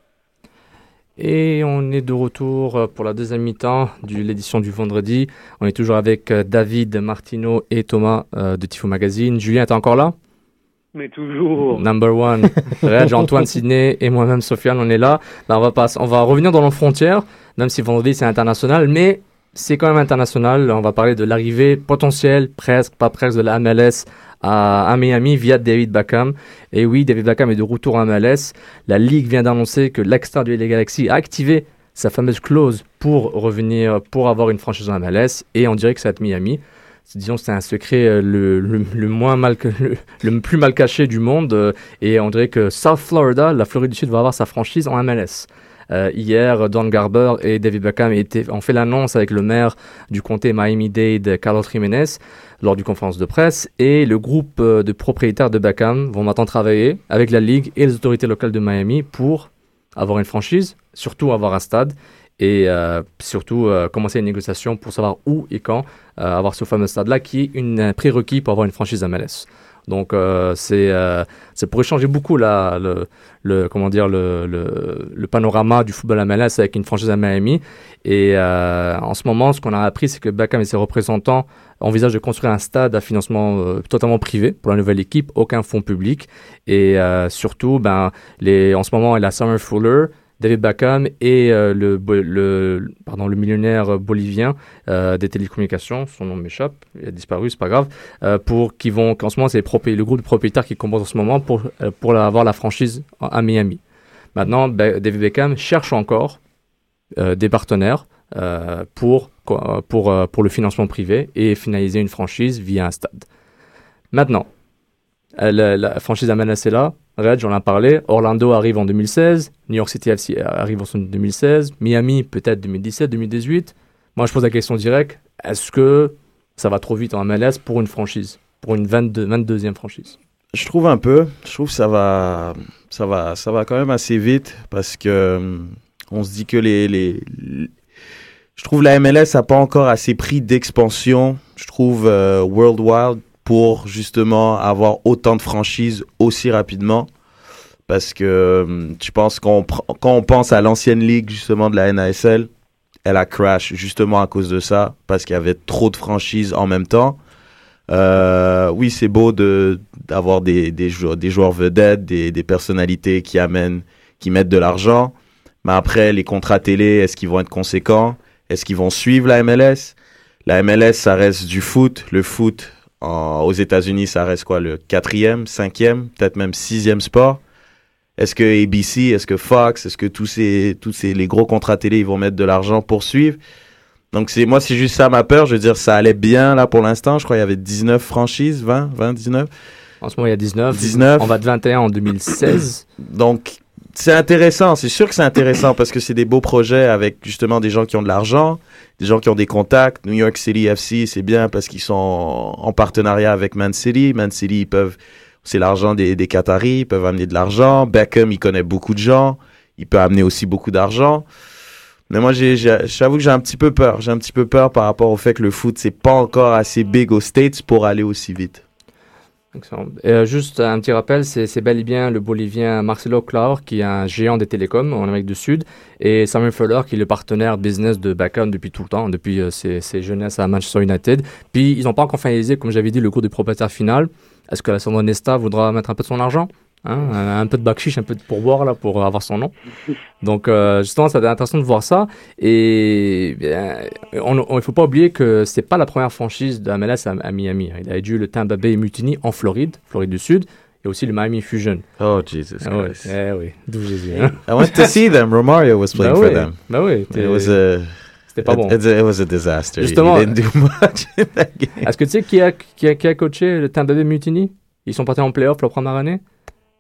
Et on est de retour pour la deuxième mi-temps de l'édition du vendredi. On est toujours avec David, Martino et Thomas euh, de Tifo Magazine. Julien, t'es encore là? Mais toujours. Number one. Reg, Antoine, Sydney et moi-même, Sofiane, on est là. Ben, on, va pas, on va revenir dans nos frontières, même si vendredi c'est international, mais c'est quand même international. On va parler de l'arrivée potentielle, presque, pas presque, de la M L S à, à Miami via David Beckham. Et oui, David Beckham est de retour en M L S. La Ligue vient d'annoncer que l'ex-star du L A Galaxy a activé sa fameuse clause pour revenir, pour avoir une franchise en M L S. Et on dirait que ça va être Miami. Disons que c'est un secret le, le, le, moins mal, le, le plus mal caché du monde. Et on dirait que South Florida, la Floride du Sud, va avoir sa franchise en M L S. Euh, hier, Don Garber et David Beckham étaient, ont fait l'annonce avec le maire du comté Miami-Dade, Carlos Jiménez, lors d'une conférence de presse. Et le groupe de propriétaires de Beckham vont maintenant travailler avec la Ligue et les autorités locales de Miami pour avoir une franchise, surtout avoir un stade et euh, surtout euh, commencer une négociation pour savoir où et quand euh, avoir ce fameux stade-là qui est une, un prérequis pour avoir une franchise M L S. Donc euh, c'est euh, ça pourrait changer beaucoup la, le, le comment dire le, le, le panorama du football M L S avec une franchise à Miami. Et euh, en ce moment, ce qu'on a appris, c'est que Beckham et ses représentants envisagent de construire un stade à financement euh, totalement privé pour la nouvelle équipe, aucun fonds public. Et euh, surtout, ben les en ce moment, il y a Summer Fuller, David Beckham et euh, le, le, pardon, le millionnaire bolivien euh, des télécommunications, son nom m'échappe, il a disparu, c'est pas grave, euh, pour qui vont, qu'en ce moment c'est propri- le groupe de propriétaires qui composent en ce moment pour, euh, pour la, avoir la franchise à Miami. Maintenant, Be- David Beckham cherche encore euh, des partenaires euh, pour, pour, pour, euh, pour le financement privé et finaliser une franchise via un stade. Maintenant, euh, la, la franchise M L S est là. Reg, on en a parlé. Orlando arrive en deux mille seize. New York City F C arrive en deux mille seize. Miami, peut-être deux mille dix-sept, deux mille dix-huit. Moi, je pose la question directe. Est-ce que ça va trop vite en M L S pour une franchise, pour une vingt-deux, vingt-deuxième franchise? Je trouve un peu. Je trouve que ça va, ça va, ça va quand même assez vite parce que on se dit que les, les, les... je trouve la M L S n'a pas encore assez pris d'expansion. Je trouve euh, Worldwide pour justement avoir autant de franchises aussi rapidement. Parce que je pense qu'on pr- quand on pense à l'ancienne ligue justement de la N A S L, elle a crash justement à cause de ça, parce qu'il y avait trop de franchises en même temps. Euh, oui, c'est beau de, d'avoir des, des, joueurs, des joueurs vedettes, des, des personnalités qui amènent, qui mettent de l'argent. Mais après, les contrats télé, est-ce qu'ils vont être conséquents? Est-ce qu'ils vont suivre la M L S? La M L S, ça reste du foot. Le foot, En, aux États-Unis, ça reste quoi, le quatrième, cinquième, peut-être même sixième sport. Est-ce que A B C, est-ce que Fox, est-ce que tous ces, tous ces, les gros contrats télé, ils vont mettre de l'argent pour suivre? Donc c'est, moi, c'est juste ça ma peur. Je veux dire, ça allait bien là pour l'instant. Je crois qu'il y avait dix-neuf franchises, vingt, vingt, dix-neuf. En ce moment, il y a dix-neuf. dix-neuf. On va de vingt et un en deux mille seize. Donc c'est intéressant. C'est sûr que c'est intéressant parce que c'est des beaux projets avec justement des gens qui ont de l'argent, des gens qui ont des contacts. New York City F C, c'est bien parce qu'ils sont en partenariat avec Man City. Man City, ils peuvent, c'est l'argent des, des Qataris, ils peuvent amener de l'argent. Beckham, il connaît beaucoup de gens. Il peut amener aussi beaucoup d'argent. Mais moi, j'ai, j'ai, j'avoue que j'ai un petit peu peur. J'ai un petit peu peur par rapport au fait que le foot, c'est pas encore assez big aux States pour aller aussi vite. Excellent. Et euh, juste un petit rappel, c'est, c'est bel et bien le Bolivien Marcelo Claure, qui est un géant des télécoms en Amérique du Sud, et Samuel Fuller, qui est le partenaire business de Beckham depuis tout le temps, depuis euh, ses, ses jeunesses à Manchester United. Puis, ils n'ont pas encore finalisé, comme j'avais dit, le cours du propriétaire final. Est-ce que Alessandro Nesta voudra mettre un peu de son argent? Hein, un, un peu de bakshish, un peu de pourboire là pour avoir son nom. Donc euh, justement, ça va être intéressant de voir ça. Et bien, on, on, il faut pas oublier que c'est pas la première franchise de M L S à, à Miami. Il a dû le Tampa Bay Mutiny en Floride, Floride du Sud, et aussi le Miami Fusion. Oh Jesus ah, ouais, Christ! Eh oui, d'où Jésus. Hein? I went to see them. Romario was playing bah for oui, them. Bah oui. It was a. C'était pas it, bon. It, it was a disaster. Justement, he didn't do much in that game. Est-ce que tu sais qui a, qui a, qui a coaché le Tampa Bay Mutiny? Ils sont partis en playoff la première année.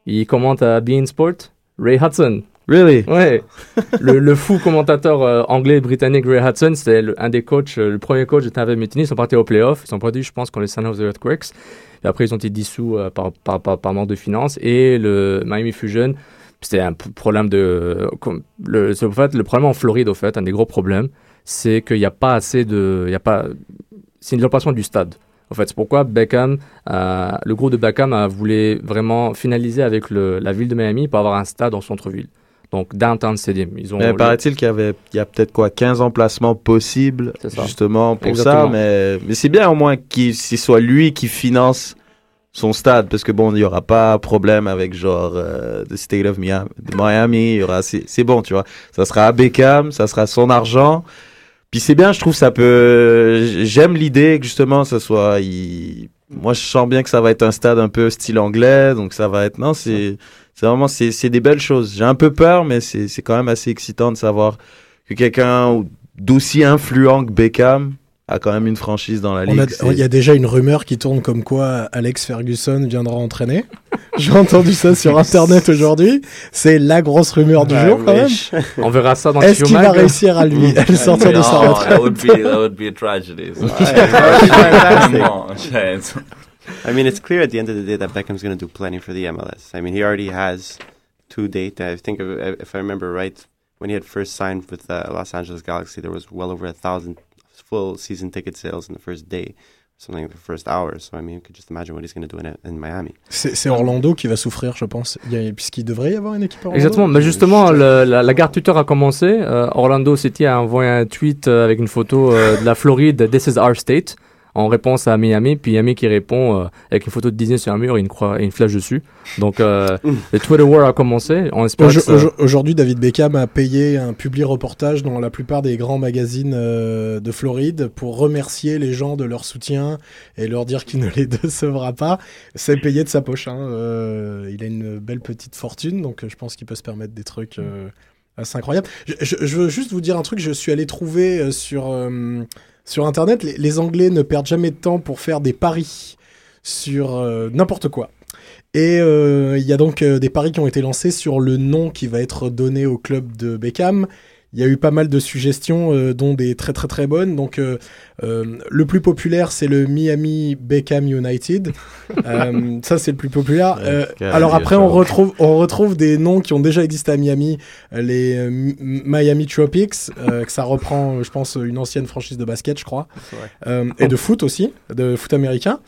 Il commente à beIN Sport. Ray Hudson. Really? Ouais. le, le fou commentateur euh, anglais britannique Ray Hudson, c'était le, un des coachs, euh, le premier coach de Tampa Bay Mutiny. Ils sont partis aux playoffs. Ils sont partis, je pense, contre les San Jose Earthquakes. Et après, ils ont été dissous euh, par, par, par, par manque de finances. Et le Miami Fusion, c'était un p- problème de... Euh, comme, le, c'est, en fait, le problème en Floride, au fait, un des gros problèmes, c'est qu'il n'y a pas assez de... Il y a pas, c'est une location du stade. En fait, c'est pourquoi Beckham, euh, le groupe de Beckham a voulu vraiment finaliser avec le, la ville de Miami pour avoir un stade en centre-ville. Donc, Downtown Stadium. Ils ont Mais le... paraît-il qu'il y avait, il y a peut-être quoi, quinze emplacements possibles, justement, pour Exactement. ça. Mais, mais c'est bien au moins qu'il ce soit lui qui finance son stade, parce que bon, il n'y aura pas problème avec genre euh, the state of Miami, de Miami. Il y aura, c'est, c'est bon, tu vois. Ça sera à Beckham, ça sera son argent. Puis c'est bien, je trouve, ça peut. J'aime l'idée que justement, ça soit. Il... Moi, je sens bien que ça va être un stade un peu style anglais, donc ça va être. Non, c'est. C'est vraiment, c'est, c'est des belles choses. J'ai un peu peur, mais c'est, c'est quand même assez excitant de savoir que quelqu'un d'aussi influent que Beckham a quand même une franchise dans la On ligue. a- Il y a déjà une rumeur qui tourne comme quoi Alex Ferguson viendra entraîner. J'ai entendu ça sur Internet aujourd'hui. C'est la grosse rumeur du I jour quand même. wish. On verra ça dans Est-ce qu'il va Q-Mag. réussir à lui à le sortir de sa No, retraite? that would be that would be a tragedy. So. Fantastic. Come on, chance. I mean, it's clear at the end of the day that Beckham's going to do plenty for the M L S. I mean, he already has to date. I think, of, if I remember right, when he had first signed with the Los Angeles Galaxy, there was well over a thousand full season ticket sales in the first day, something like the first hour. So, I mean, you could just imagine what he's going to do in, in Miami. C'est, c'est Orlando qui va souffrir, je pense. Il y a, puisqu'il devrait y avoir une équipe à Orlando. Exactement, mais justement, le, la, la guerre Twitter a commencé. Euh, Orlando City a envoyé un tweet euh, avec une photo euh, de la Floride, This is our state, en réponse à Miami. Puis Miami qui répond euh, avec une photo de Disney sur un mur et une, croix, et une flèche dessus. Donc, euh, le Twitter War a commencé. On espère Aujo- que ça... aujo- Aujourd'hui, David Beckham a payé un public reportage dans la plupart des grands magazines euh, de Floride pour remercier les gens de leur soutien et leur dire qu'il ne les décevra pas. C'est payé de sa poche. Hein. Euh, il a une belle petite fortune, donc euh, je pense qu'il peut se permettre des trucs euh, assez incroyables. Je, je- je veux juste vous dire un truc. Je suis allé trouver euh, sur, euh, sur Internet, les, les Anglais ne perdent jamais de temps pour faire des paris sur euh, n'importe quoi. Et euh, il y a donc euh, des paris qui ont été lancés sur le nom qui va être donné au club de Beckham. Il y a eu pas mal de suggestions, euh, dont des très très très bonnes. Donc euh, euh, le plus populaire, c'est le Miami Beckham United. Euh, ça, c'est le plus populaire. Euh, Ouais, alors carré, après, ça on va. retrouve, on retrouve des noms qui ont déjà existé à Miami, euh, les euh, M- Miami Tropics, euh, que ça reprend, je pense, une ancienne franchise de basket, je crois, euh, et de foot aussi, de foot américain.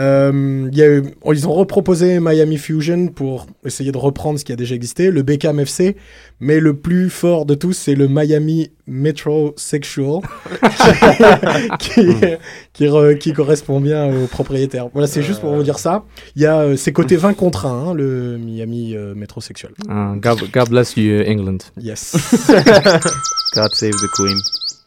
Euh, il y a eu- ils ont reproposé Miami Fusion pour essayer de reprendre ce qui a déjà existé, le Beckham F C, mais le plus fort de tous, c'est le Miami Metrosexual, qui, qui, qui, re- qui correspond bien aux propriétaires. Voilà, c'est juste pour vous dire ça. Il y a, euh, c'est côté vingt contre un, hein, le Miami euh, Metrosexual. Ah, God, God bless you, England. Yes. God save the Queen.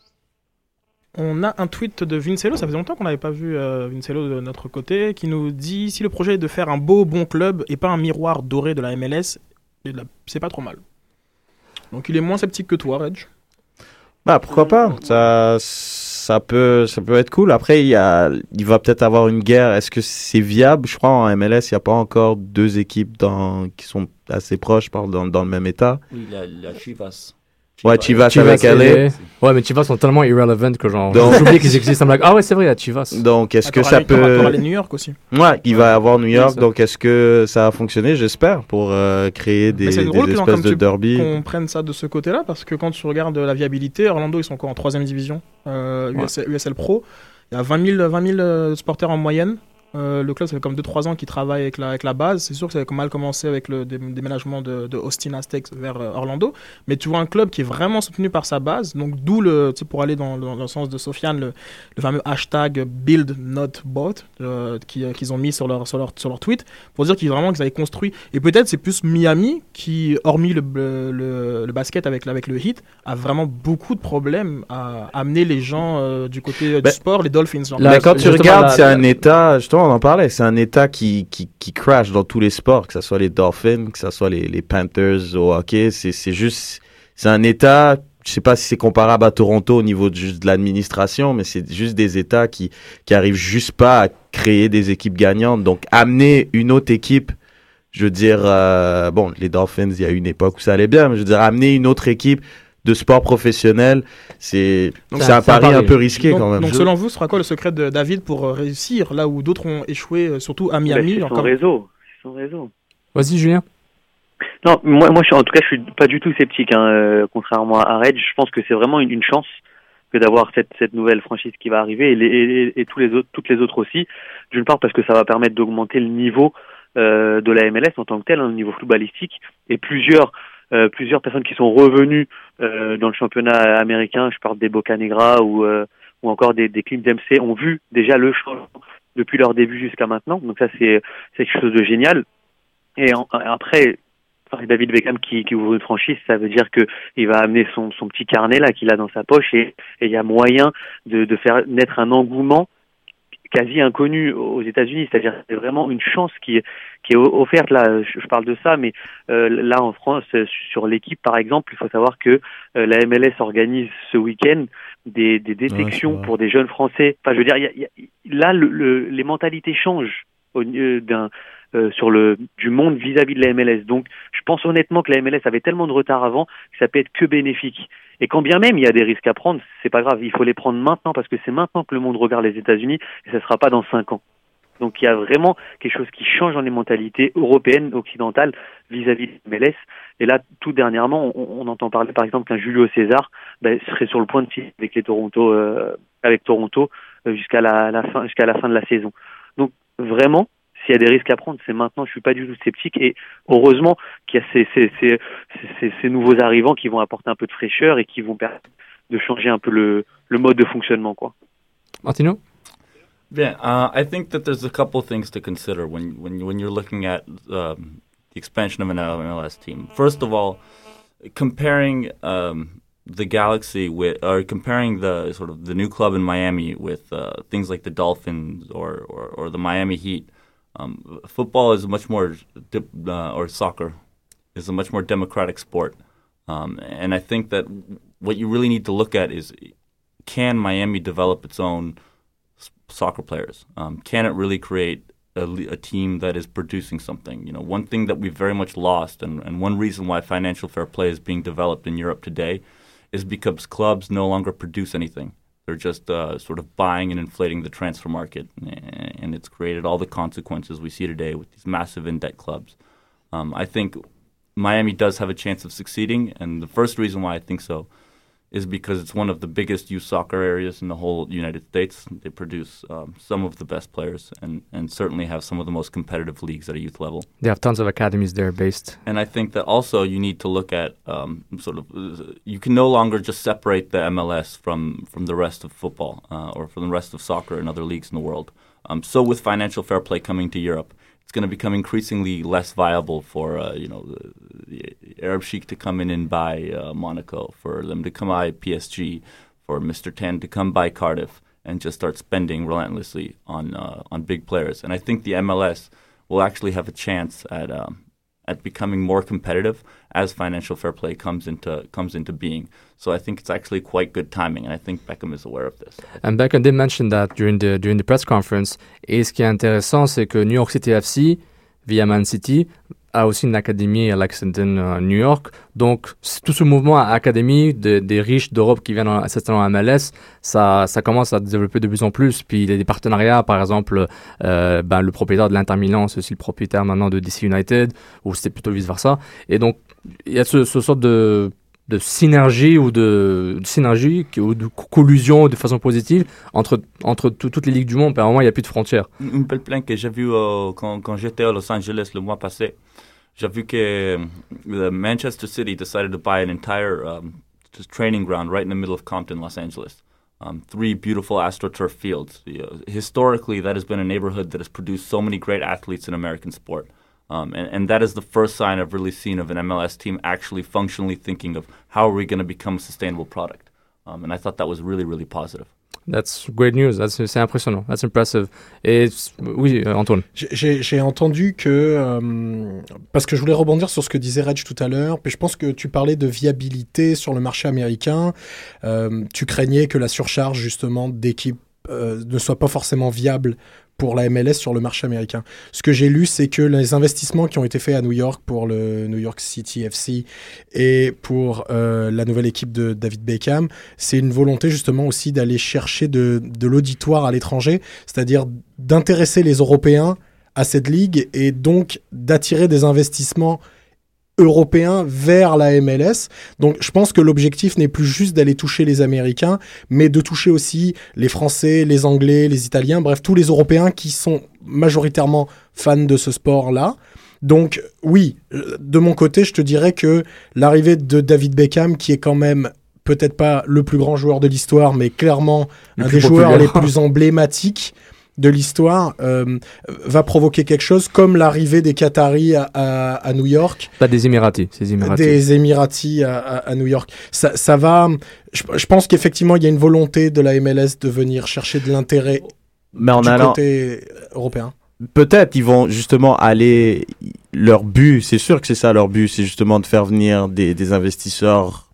On a un tweet de Vincello, ça faisait longtemps qu'on n'avait pas vu euh, Vincello de notre côté, qui nous dit si le projet est de faire un beau, bon club et pas un miroir doré de la M L S, et de la- c'est pas trop mal. Donc il est moins sceptique que toi, Reg. Bah pourquoi pas, ça, ça peut, ça peut être cool. Après il y a, il va peut-être avoir une guerre. Est-ce que c'est viable? Je crois en M L S il n'y a pas encore deux équipes dans, qui sont assez proches, par- dans, dans le même état. Oui, la, la Chivas. Ouais, Chivas, Chivas, avec L A. et- Ouais, mais Chivas sont tellement irrelevant que genre, Donc- j'oublie qu'ils existent. I'm like, ah ouais, c'est vrai, il y a Chivas. Donc est-ce que T'auras ça les- t'auras- peut... t'auras les New York aussi. Ouais, il va avoir New York, ça. donc est-ce que ça a fonctionné? J'espère, pour euh, créer des, Mais c'est des drôle que dans- espèces comme de tu- derby. qu'on prenne ça de ce côté-là, parce que quand tu regardes la viabilité, Orlando, ils sont encore en troisième division, euh, Ouais. U S L, U S L Pro. Il y a vingt mille, vingt mille euh, supporters en moyenne. Euh, le club, ça fait comme deux trois ans qu'il travaille avec la, avec la base. C'est sûr que ça a mal commencé avec le dé- déménagement de, de Austin Aztecs vers euh, Orlando. Mais tu vois un club qui est vraiment soutenu par sa base. Donc, d'où, le, tu sais, pour aller dans, dans, dans le sens de Sofiane, le, le fameux hashtag Build Not Bought euh, qui- euh, qu'ils ont mis sur leur, sur, leur, sur leur tweet pour dire qu'ils vraiment qu'ils avaient construit. Et peut-être c'est plus Miami qui, hormis le, le, le, le basket avec, avec le Heat, a vraiment beaucoup de problèmes à amener les gens euh, du côté euh, Ben, du sport, les Dolphins. Genre. Là, Mais quand tu justement, regardes, la- c'est un la- état, justement, on en parlait, c'est un état qui, qui, qui crash dans tous les sports, que ce soit les Dolphins, que ce soit les, les Panthers au hockey. C'est, c'est juste, c'est un état, je sais pas si c'est comparable à Toronto au niveau de, juste de l'administration, mais c'est juste des états qui, qui arrivent juste pas à créer des équipes gagnantes. Donc, amener une autre équipe Je veux dire, euh, bon, les Dolphins, il y a eu une époque où ça allait bien, mais je veux dire, amener une autre équipe de sport professionnel, c'est, Donc, c'est un pari un peu risqué donc, quand même. Donc Je- selon vous, ce sera quoi le secret de David pour euh, réussir là où d'autres ont échoué, euh, surtout à Miami? Bah, c'est son encore... réseau. C'est son réseau. Vas-y, Julien. Non, moi, moi, je, suis- en tout cas, je suis pas du tout sceptique. Hein, euh, contrairement à Red, je pense que c'est vraiment une, une chance que d'avoir cette, cette nouvelle franchise qui va arriver et, les, et, et tous les autres, toutes les autres aussi. D'une part parce que ça va permettre d'augmenter le niveau euh, de la M L S en tant que tel, hein, le niveau footballistique, et plusieurs euh, plusieurs personnes qui sont revenues euh, dans le championnat américain. Je parle des Boca Negra ou euh, ou encore des, des Clint Dempsey ont vu déjà le changement depuis leur début jusqu'à maintenant. Donc ça, c'est c'est quelque chose de génial. Et en, après, enfin, David Beckham qui, qui ouvre une franchise, ça veut dire que il va amener son, son petit carnet là qu'il a dans sa poche et et il y a moyen de, de faire naître un engouement quasi inconnu aux États-Unis. C'est-à-dire que c'est vraiment une chance qui est qui est offerte là. Je, je parle de ça, mais euh, là en France, euh, sur l'équipe par exemple, il faut savoir que euh, la M L S organise ce week-end des, des détections Ouais, pour des jeunes Français. Enfin, je veux dire, il y a, il y a, là, le, le, les mentalités changent au, euh, d'un Euh, sur le du monde vis-à-vis de la M L S. Donc, je pense honnêtement que la M L S avait tellement de retard avant que ça peut être que bénéfique. Et quand bien même il y a des risques à prendre, c'est pas grave, il faut les prendre maintenant parce que c'est maintenant que le monde regarde les États-Unis et ça sera pas dans cinq ans. Donc, il y a vraiment quelque chose qui change dans les mentalités européennes, occidentales vis-à-vis de la M L S. Et là, tout dernièrement, on, on entend parler par exemple qu'un Julio César ben, serait sur le point de signer avec les Toronto, euh, avec Toronto euh, jusqu'à la, la fin, jusqu'à la fin de la saison. Donc, vraiment. S'il y a des risques à prendre, c'est maintenant. Je suis pas du tout sceptique et heureusement qu'il y a ces, ces, ces, ces, ces nouveaux arrivants qui vont apporter un peu de fraîcheur et qui vont permettre de changer un peu le, le mode de fonctionnement, quoi. Martino? Yeah, uh, I think that there's a couple things to consider when when when you're looking at um, the expansion of an M L S team. First of all, comparing um, the Galaxy with, or comparing the sort of the new club in Miami with uh, things like the Dolphins or, or, or the Miami Heat. Um, football is a much more, uh, or soccer, is a much more democratic sport. Um, and I think that what you really need to look at is, can Miami develop its own s- soccer players? Um, can it really create a, a team that is producing something? You know, one thing that we've very much lost, and, and one reason why financial fair play is being developed in Europe today, is because clubs no longer produce anything. They're just uh, sort of buying and inflating the transfer market, and it's created all the consequences we see today with these massive in-debt clubs. Um, I think Miami does have a chance of succeeding, and the first reason why I think so is because it's one of the biggest youth soccer areas in the whole United States. They produce um, some of the best players and, and certainly have some of the most competitive leagues at a youth level. They have tons of academies there based. And I think that also you need to look at um, sort of, uh, you can no longer just separate the M L S from, from the rest of football uh, or from the rest of soccer and other leagues in the world. Um, so with financial fair play coming to Europe, it's going to become increasingly less viable for uh, you know the, the Arab Sheikh to come in and buy uh, Monaco, for them to come buy P S G, for Mister Ten to come buy Cardiff and just start spending relentlessly on uh, on big players. And I think the M L S will actually have a chance at um, at becoming more competitive as financial fair play comes into comes into being. So I think it's actually quite good timing, and I think Beckham is aware of this. And Beckham did mention that during the during the press conference. Et ce qui est intéressant, c'est que New York City F C, via Man City, a aussi une académie à Lexington, euh, New York. Donc, tout ce mouvement à académie de, des riches d'Europe qui viennent s'installer en M L S, ça, ça commence à se développer de plus en plus. Puis, il y a des partenariats, par exemple, euh, ben, le propriétaire de l'Inter Milan, c'est aussi le propriétaire maintenant de D C United, ou c'était plutôt vice-versa. Et donc, il y a ce, ce sorte de... de synergie ou de, de synergie ou de collusion de façon positive entre, entre tout, toutes les ligues du monde. À un moment, il n'y a plus de frontières. Une belle plainte que j'ai vue euh, quand, quand j'étais à Los Angeles le mois passé. J'ai vu que the Manchester City decided to buy an entire um, just training ground right in the middle of Compton, Los Angeles. Um, three beautiful AstroTurf fields. You know, historically, that has been a neighborhood that has produced so many great athletes in American sport. Um, and, and that is the first sign I've really seen of an M L S team actually functionally thinking of how are we going to become a sustainable product. Um, and I thought that was really, really positive. That's great news. That's, c'est impressionnant. That's impressive. Et oui, Antoine. J'ai, j'ai entendu que... Euh, parce que je voulais rebondir sur ce que disait Reg tout à l'heure, puis je pense que tu parlais de viabilité sur le marché américain. Euh, tu craignais que la surcharge justement d'équipes euh, ne soit pas forcément viable pour la M L S sur le marché américain. Ce que j'ai lu, c'est que les investissements qui ont été faits à New York pour le New York City F C et pour euh, la nouvelle équipe de David Beckham, c'est une volonté justement aussi d'aller chercher de, de l'auditoire à l'étranger, c'est-à-dire d'intéresser les Européens à cette ligue et donc d'attirer des investissements européens vers la M L S. Donc je pense que l'objectif n'est plus juste d'aller toucher les Américains, mais de toucher aussi les Français, les Anglais, les Italiens, bref, tous les Européens qui sont majoritairement fans de ce sport-là. Donc oui, de mon côté, je te dirais que l'arrivée de David Beckham, qui est quand même peut-être pas le plus grand joueur de l'histoire, mais clairement le un des joueurs les plus emblématiques de l'histoire, euh, va provoquer quelque chose comme l'arrivée des Qataris à, à, à New York. Pas des Émiratis, c'est des Émiratis. Des Émiratis à, à, à New York. Ça, ça va... Je, je pense qu'effectivement, il y a une volonté de la M L S de venir chercher de l'intérêt Mais en du allant... côté européen. Peut-être ils vont justement aller... Leur but, c'est sûr que c'est ça leur but, c'est justement de faire venir des, des investisseurs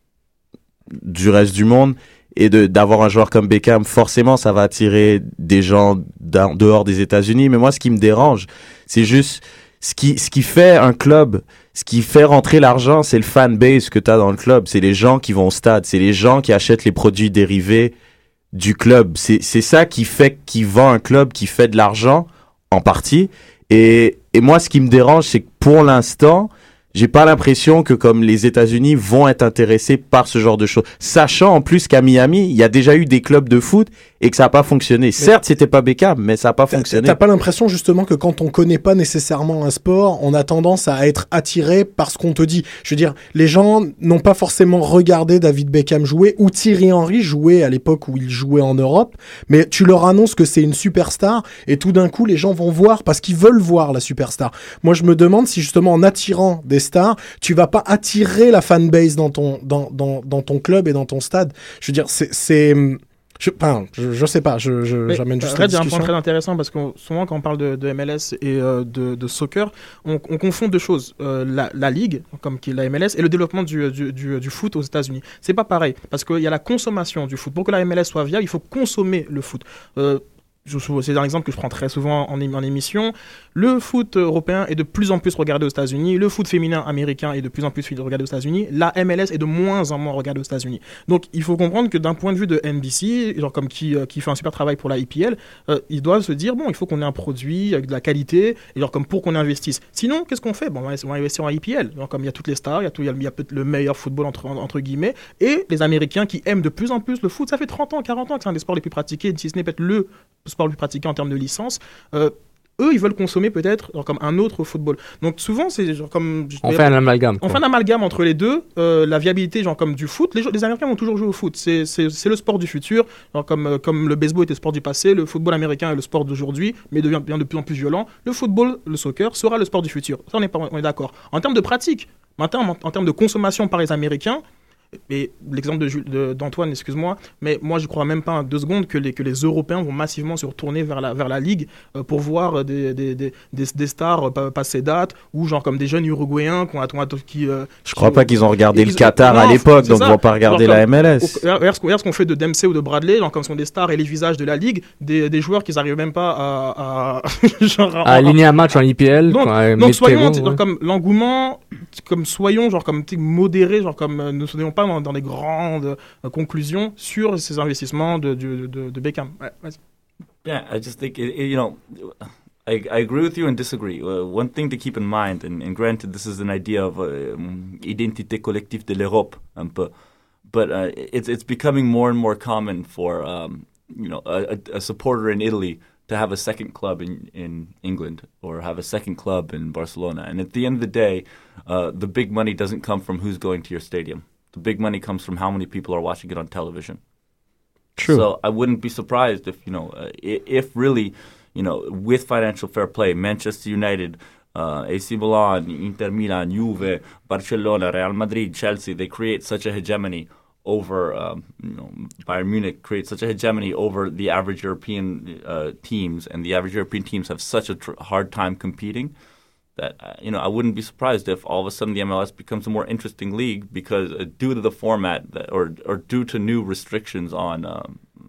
du reste du monde. Et de, d'avoir un joueur comme Beckham, forcément, ça va attirer des gens dehors des États-Unis. Mais moi, ce qui me dérange, c'est juste ce qui, ce qui fait un club, ce qui fait rentrer l'argent, c'est le fan base que tu as dans le club. C'est les gens qui vont au stade, c'est les gens qui achètent les produits dérivés du club. C'est, c'est ça qui fait, qui vend un club, qui fait de l'argent, en partie. Et, et moi, ce qui me dérange, c'est que pour l'instant, j'ai pas l'impression que comme les États-Unis vont être intéressés par ce genre de choses. Sachant en plus qu'à Miami, il y a déjà eu des clubs de foot et que ça n'a pas fonctionné. Mais certes, c'était pas Beckham, mais ça n'a pas fonctionné. T'as pas l'impression justement que quand on connaît pas nécessairement un sport, on a tendance à être attiré par ce qu'on te dit. Je veux dire, les gens n'ont pas forcément regardé David Beckham jouer ou Thierry Henry jouer à l'époque où il jouait en Europe, mais tu leur annonces que c'est une superstar et tout d'un coup, les gens vont voir parce qu'ils veulent voir la superstar. Moi, je me demande si justement en attirant des stars, tu vas pas attirer la fanbase dans ton, dans, dans, dans ton club et dans ton stade. Je veux dire, c'est... c'est Je, enfin, je, je sais pas, je, je, j'amène juste la discussion. Il y a un point très intéressant parce que souvent quand on parle de, de M L S et euh, de, de soccer, on, on confond deux choses. Euh, la, la ligue, comme qui est la M L S, et le développement du, du, du, du foot aux États-Unis. C'est pas pareil parce qu'il y a la consommation du foot. Pour que la M L S soit viable, il faut consommer le foot. Euh, Je, c'est un exemple que je prends très souvent en, en émission. Le foot européen est de plus en plus regardé aux États-Unis. Le foot féminin américain est de plus en plus regardé aux États-Unis. La M L S est de moins en moins regardée aux États-Unis. Donc, il faut comprendre que d'un point de vue de N B C, genre comme qui, euh, qui fait un super travail pour la I P L, euh, ils doivent se dire, bon, il faut qu'on ait un produit avec de la qualité, et genre comme pour qu'on investisse. Sinon, qu'est-ce qu'on fait? Bon, on va investir en I P L. Genre comme il y a toutes les stars, il y a, tout, il y a, il y a le meilleur football entre, entre guillemets, et les Américains qui aiment de plus en plus le foot. Ça fait trente ans, quarante ans que c'est un des sports les plus pratiqués, si ce n'est peut-être le sport le plus pratiqué en termes de licence. Euh, eux, ils veulent consommer peut-être genre, comme un autre football. Donc souvent, c'est genre comme... On fait un amalgame. On fait un amalgame entre les deux. Euh, la viabilité, genre comme du foot. Les, les Américains vont toujours jouer au foot. C'est, c'est, c'est le sport du futur. Genre, comme, euh, comme le baseball était le sport du passé, le football américain est le sport d'aujourd'hui, mais devient, devient de plus en plus violent. Le football, le soccer, sera le sport du futur. Ça, on est, pas, on est d'accord. En termes de pratique, maintenant, en, en termes de consommation par les Américains, et l'exemple de, de, d'Antoine, excuse-moi, mais moi je crois même pas deux secondes que les, que les Européens vont massivement se retourner vers la, vers la Ligue euh, pour voir des, des, des, des, des stars euh, passer date ou genre comme des jeunes Uruguayens qui ont, qui, euh, je crois qui, pas qu'ils ont regardé ils, le Qatar non, à l'époque, donc ça. ils vont pas regarder genre, la M L S. Au, regarde, ce, regarde ce qu'on fait de Dempsey ou de Bradley, genre comme sont des stars et les visages de la Ligue, des, des joueurs qui n'arrivent même pas à, à, genre, à aligner un match en I P L. Donc, quoi, donc soyons genre, ouais. comme l'engouement, comme soyons genre comme modérés, genre comme euh, ne soyons pas dans, dans des grands de euh, conclusion sur ces investissements de, de, de, de Beckham. Ouais, vas-y. Yeah, I just think, it, it, you know, I, I agree with you and disagree. Uh, one thing to keep in mind, and, and granted this is an idea of uh, um, identité collective de l'Europe, un peu, but uh, it's, it's becoming more and more common for, um, you know, a, a supporter in Italy to have a second club in, in England or have a second club in Barcelona. And at the end of the day, uh, the big money doesn't come from who's going to your stadium. The big money comes from how many people are watching it on television. True. So I wouldn't be surprised if, you know, uh, if really, you know, with financial fair play, Manchester United, uh, A C Milan, Inter Milan, Juve, Barcelona, Real Madrid, Chelsea, they create such a hegemony over, um, you know, Bayern Munich creates such a hegemony over the average European uh, teams, and the average European teams have such a tr- hard time competing. That, uh, you know, I wouldn't be surprised if all of a sudden the M L S becomes a more interesting league because uh, due to the format that, or or due to new restrictions on um, you know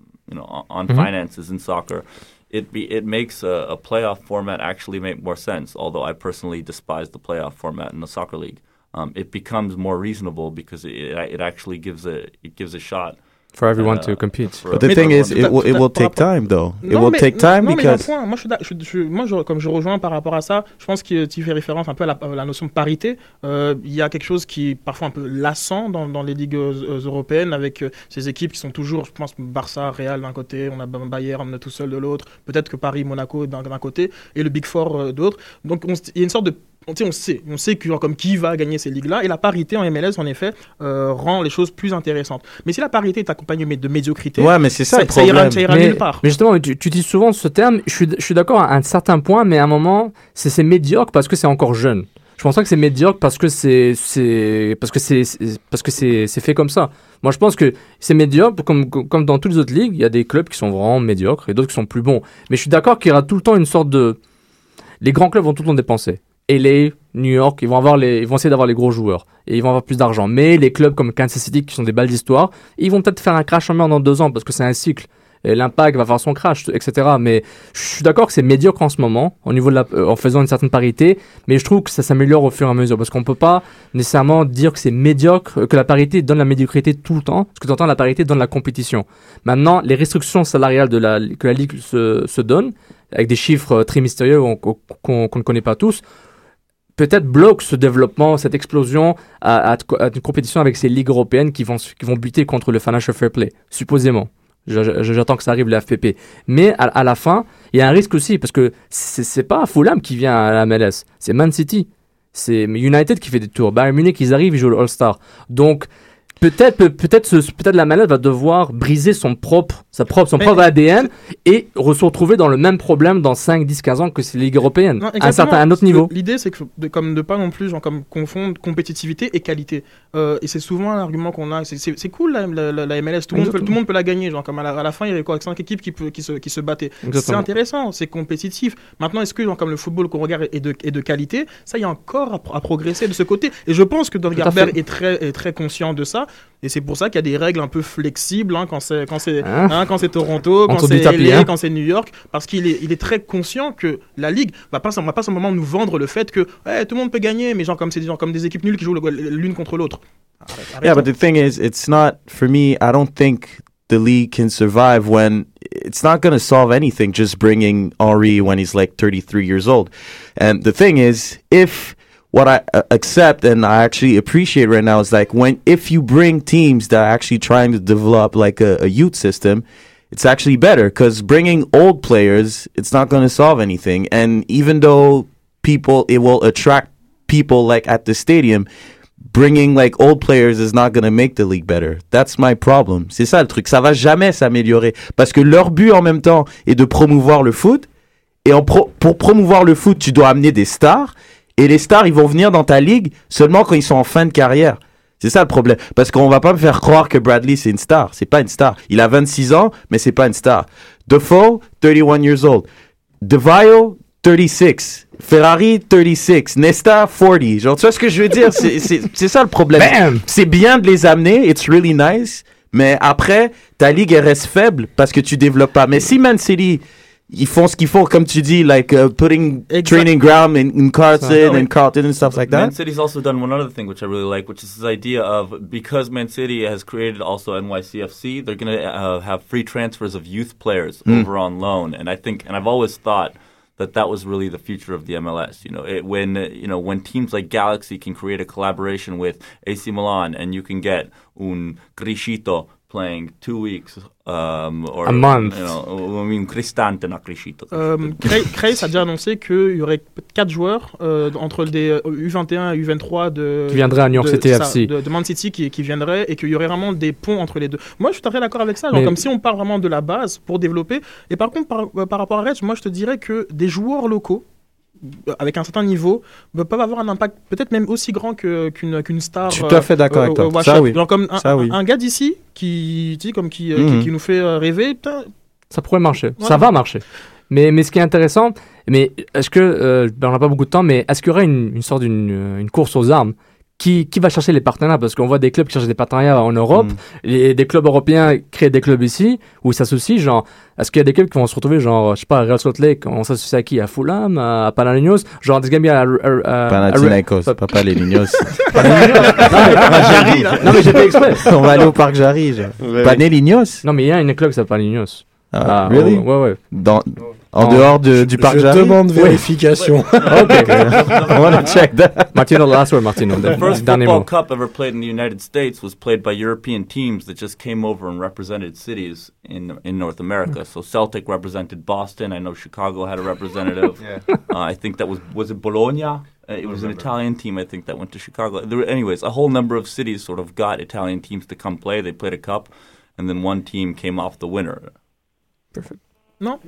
on, on Mhm. finances in soccer, it be, it makes a, a playoff format actually make more sense. Although I personally despise the playoff format in the soccer league, um, it becomes more reasonable because it, it actually gives a it gives a shot. For everyone uh, to compete. for But the everyone thing is, to it will, it will take time, though. It will mais, take time non, because. Mais il y a un point. Moi, je suis, je, je, moi je, comme je rejoins par rapport à ça, je pense que tu fais référence un peu à la, à la notion de parité. Euh, il y a quelque chose qui est parfois un peu lassant dans, dans les ligues euh, européennes avec euh, ces équipes qui sont toujours, je pense, Barça, Real d'un côté, on a Bayern on a tout seul de l'autre, peut-être que Paris, Monaco d'un, d'un côté, et le Big Four euh, d'autre. Donc on, il y a une sorte de On, on sait, on sait que, genre, comme qui va gagner ces ligues-là, et la parité en M L S, en effet, euh, rend les choses plus intéressantes. Mais si la parité est accompagnée de médiocrité, ouais, mais c'est ça, ça, le problème. ça ira, ça ira mais, nulle part. Mais justement, tu, tu utilises souvent ce terme, je suis, je suis d'accord à un certain point, mais à un moment, c'est, c'est médiocre parce que c'est encore jeune. Je pense pas que c'est médiocre parce que c'est, c'est parce que c'est, c'est parce que c'est, c'est fait comme ça. Moi, je pense que c'est médiocre comme comme dans toutes les autres ligues. Il y a des clubs qui sont vraiment médiocres et d'autres qui sont plus bons. Mais je suis d'accord qu'il y aura tout le temps une sorte de, les grands clubs vont tout le temps dépenser. L A, New York, ils vont avoir les, ils vont essayer d'avoir les gros joueurs et ils vont avoir plus d'argent. Mais les clubs comme Kansas City qui sont des balles d'histoire, ils vont peut-être faire un crash en mer dans deux ans parce que c'est un cycle. Et l'Impact va faire son crash, et cetera. Mais je suis d'accord que c'est médiocre en ce moment, au niveau de la, euh, en faisant une certaine parité. Mais je trouve que ça s'améliore au fur et à mesure parce qu'on peut pas nécessairement dire que c'est médiocre, que la parité donne la médiocrité tout le temps. Parce que tu entends, la parité donne la compétition. Maintenant, les restrictions salariales de la, que la Ligue se, se donne, avec des chiffres très mystérieux qu'on, qu'on, qu'on ne connaît pas tous, peut-être bloque ce développement, cette explosion à, à, à une compétition avec ces ligues européennes qui vont, qui vont buter contre le financial fair play, supposément. J'attends que ça arrive, le F P P. Mais à, à la fin, il y a un risque aussi, parce que c'est, c'est pas Fulham qui vient à la M L S, c'est Man City. C'est United qui fait des tours. Bayern Munich, ils arrivent, ils jouent le All-Star. Donc, peut-être, peut, peut-être, ce, peut-être la M L S va devoir briser son propre, sa propre, son mais propre A D N et se retrouver dans le même problème dans cinq, dix, quinze ans que ces ligues européennes. Non, à un certain, à un autre niveau. L'idée, c'est que de, comme de pas non plus genre, comme confondre compétitivité et qualité. Euh, et c'est souvent un argument qu'on a. C'est, c'est, c'est cool la, la, la M L S. Tout le monde peut, tout le monde peut la gagner. Genre, comme à la, à la fin, il y avait quoi, cinq équipes qui, peut, qui, se, qui se battaient. Exactement. C'est intéressant, c'est compétitif. Maintenant, est-ce que genre, comme le football qu'on regarde est de, est de qualité? Ça, il y a encore à, à progresser de ce côté. Et je pense que Don Garber est très, est très conscient de ça. Et c'est pour ça qu'il y a des règles un peu flexibles hein, quand c'est quand c'est hein hein, quand c'est Toronto, quand c'est L A, hein. quand c'est New York, parce qu'il est il est très conscient que la ligue va pas va pas simplement nous vendre le fait que hey, tout le monde peut gagner, mais genre comme c'est des gens comme des équipes nulles qui jouent l'une contre l'autre. Arrête, arrête, yeah, but the thing is, it's not for me. I don't think the league can survive when it's not going to solve anything. Just bringing Henry when he's like thirty-three years old, and the thing is, if what I uh, accept and I actually appreciate right now is like when if you bring teams that are actually trying to develop like a, a youth system, it's actually better because bringing old players, it's not going to solve anything. And even though people, it will attract people like at the stadium, bringing like old players is not going to make the league better. That's my problem. C'est ça le truc. Ça va jamais s'améliorer parce que leur but en même temps est de promouvoir le foot. Et en pro- pour promouvoir le foot, tu dois amener des stars. Et les stars, ils vont venir dans ta ligue seulement quand ils sont en fin de carrière. C'est ça le problème. Parce qu'on va pas me faire croire que Bradley, c'est une star. C'est pas une star. Il a vingt-six ans, mais c'est pas une star. Defoe, thirty-one years old. DeVio, thirty-six. Ferrari, thirty-six. Nesta, forty. Genre, tu vois ce que je veux dire? C'est, c'est, c'est ça le problème. Bam! C'est bien de les amener. It's really nice. Mais après, ta ligue, elle reste faible parce que tu développes pas. Mais si Man City... Ils font ce qu'il faut, comme tu dis, like uh, putting exactly. training ground in, in Carlton so, and Carlton and stuff like that. Man City's also done one other thing which I really like, which is this idea of because Man City has created also N Y C F C, they're going to uh, have free transfers of youth players mm. over on loan, and I think, and I've always thought that that was really the future of the M L S. You know, it, when uh, you know when teams like Galaxy can create a collaboration with A C Milan, and you can get un Criscito playing two weeks um, or a month. You know, I mean, Cristante, not Criscito. Um, Crace a déjà annoncé qu'il y aurait quatre joueurs euh, entre des U vingt et un et U vingt-trois de, qui viendraient à New York City F C. De, de Man City qui, qui viendraient et qu'il y aurait vraiment des ponts entre les deux. Moi, je suis tout à fait d'accord avec ça. Genre, comme si on part vraiment de la base pour développer. Et par contre, par, euh, par rapport à Reds, moi, je te dirais que des joueurs locaux avec un certain niveau peuvent avoir un impact peut-être même aussi grand que, qu'une, qu'une star. Je suis tout à fait d'accord euh, avec toi. Euh, ça, oui. Genre comme un, ça, oui. un, un gars d'ici qui, tu sais, comme qui, euh, mm-hmm. qui, qui nous fait rêver. Putain. Ça pourrait marcher. Ouais. Ça va marcher. Mais, mais ce qui est intéressant, mais est-ce que, euh, ben on n'a pas beaucoup de temps, mais est-ce qu'il y aurait une, une sorte d'une une course aux armes qui, qui va chercher les partenariats? Parce qu'on voit des clubs qui cherchent des partenariats en Europe, Mm. et des clubs européens créent des clubs ici, où ils s'associent, genre, est-ce qu'il y a des clubs qui vont se retrouver, genre, je sais pas, à Real Salt Lake, on s'associe à qui? À Fulham, à Panathinaikos, genre, des gamins à, à, à, Panathinaikos, pas Panathinaikos. Jarry, là. Non, mais j'ai fait exprès. On va aller au parc Jarry, genre. Ouais, Panathinaikos. Non, mais il y a une club qui s'appelle Panathinaikos. Ah, Ah, really? ouais, ouais. Dans, en Non. dehors de, du parc Je Jarry? demande Oui. vérification. Okay. I wanna check that. Martino, last word, Martino. The first Dernier football mot. cup ever played in the United States was played by European teams that just came over and represented cities in in North America. So Celtic represented Boston. I know Chicago had a representative. Yeah. uh, I think that was was it Bologna? Uh, it was an Italian team, I think, that went to Chicago. There were, anyways, a whole number of cities sort of got Italian teams to come play. They played a cup, and then one team came off the winner. Perfect. Non,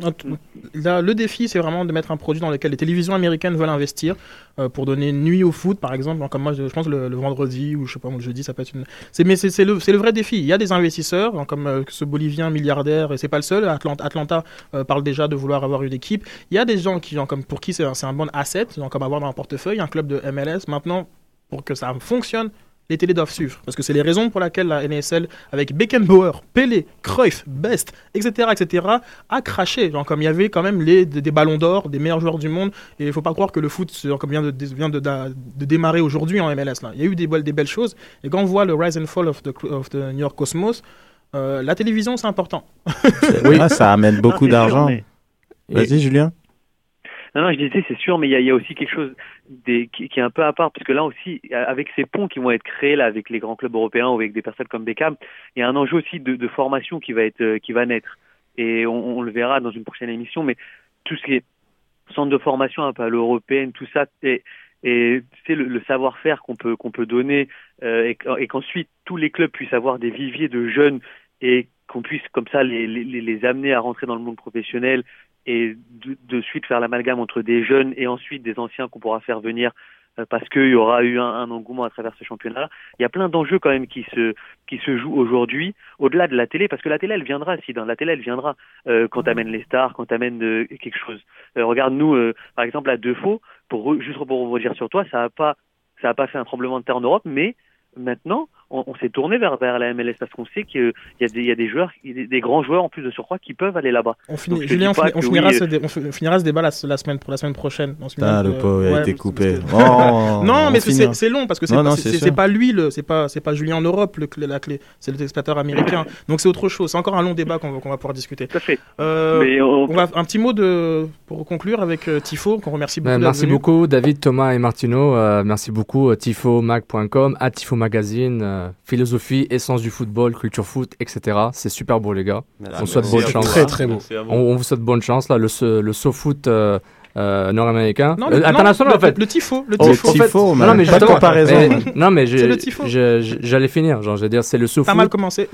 là, le défi, c'est vraiment de mettre un produit dans lequel les télévisions américaines veulent investir euh, pour donner une nuit au foot, par exemple. Comme moi, je, je pense le, le vendredi ou je sais pas, le jeudi, ça peut être une. C'est, mais c'est, c'est, le, c'est le vrai défi. Il y a des investisseurs, hein, comme euh, ce Bolivien milliardaire, et c'est pas le seul. Atlanta, Atlanta euh, parle déjà de vouloir avoir une équipe. Il y a des gens qui, genre, comme pour qui c'est un, c'est un bon asset, genre, comme avoir dans un portefeuille un club de M L S. Maintenant, pour que ça fonctionne, les télés doivent suivre. Parce que c'est les raisons pour lesquelles la N A S L, avec Beckenbauer, Pelé, Cruyff, Best, et cetera, et cetera, a craché. Genre, comme il y avait quand même les, des, des ballons d'or, des meilleurs joueurs du monde. Et il ne faut pas croire que le foot genre, comme vient, de, vient de, de, de démarrer aujourd'hui en M L S. Là. Il y a eu des, des belles choses. Et quand on voit le rise and fall of the, of the New York Cosmos, euh, la télévision, c'est important. Oui, ah, ça amène beaucoup Non, d'argent. sûr, mais... Vas-y, Et... Julien. Non, non, je disais, c'est sûr, mais il y, y a aussi quelque chose des, qui, qui est un peu à part, parce que là aussi, avec ces ponts qui vont être créés là avec les grands clubs européens ou avec des personnes comme Beckham, il y a un enjeu aussi de, de formation qui va être, euh, qui va naître. Et on, on le verra dans une prochaine émission, mais tout ce qui est centre de formation un peu à l'européenne, tout ça, et, et c'est le, le savoir-faire qu'on peut, qu'on peut donner, euh, et, et qu'ensuite tous les clubs puissent avoir des viviers de jeunes et qu'on puisse comme ça les, les, les amener à rentrer dans le monde professionnel et de, de suite faire l'amalgame entre des jeunes et ensuite des anciens qu'on pourra faire venir euh, parce qu'il y aura eu un, un engouement à travers ce championnat. Il y a plein d'enjeux quand même qui se qui se jouent aujourd'hui au-delà de la télé, parce que la télé elle viendra, si dans la télé elle viendra euh, quand t'amènes les stars, quand t'amènes euh, quelque chose. Euh, regarde nous euh, par exemple à Defaux, pour juste pour rebondir sur toi, ça a pas ça a pas fait un tremblement de terre en Europe, mais maintenant, on, on s'est tourné vers, vers la M L S parce qu'on sait qu'il y a des, il y a des joueurs, des, des grands joueurs en plus de surcroît qui peuvent aller là-bas. On finit, Donc, Julien, on, finit, on, que finira oui, ce dé, on finira ce débat la, la semaine, pour la semaine prochaine. Ah, le pauvre a ouais, été coupé. Que... Oh, non, mais c'est, c'est long parce que c'est, non, pas, non, c'est, c'est, c'est, c'est pas lui, le, c'est, pas, c'est pas Julien en Europe, le, la clé, c'est le téléspectateur américain. Donc c'est autre chose. C'est encore un long débat qu'on, qu'on va pouvoir discuter. Tout à fait. Euh, mais on... on va, un petit mot de, pour conclure avec euh, Tifo, qu'on remercie beaucoup. Ben, merci beaucoup, David, Thomas et Martino. Euh, merci beaucoup, tifo mag point com, à Tifo Magazine, euh, philosophie, essence du football, culture foot, et cetera. C'est super beau, les gars. Merci. On souhaite Merci bonne à chance. vous. Très, très beau. On, on vous souhaite bonne chance, là, le, le SoFoot euh, euh, nord-américain. Non, euh, le, international, non, en fait. Le, le Tifo. Le Oh, Tifo. le tifo, en fait, man. non, mais Pas de justement, comparaison. mais, non, mais C'est le je, tifo. je, je, j'allais finir. Genre, je veux dire, c'est le SoFoot. T'as mal commencé.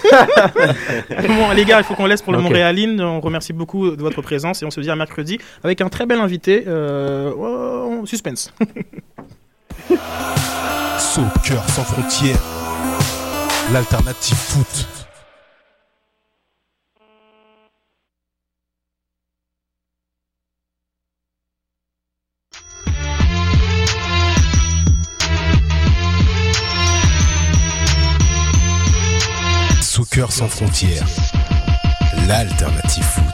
Bon, les gars, il faut qu'on laisse pour le Okay. Montréaline. On remercie beaucoup de votre présence et on se dit à mercredi avec un très bel invité. Euh, oh, suspense. Soccer sans frontières, l'alternative foot. Soccer sans frontières, l'alternative foot.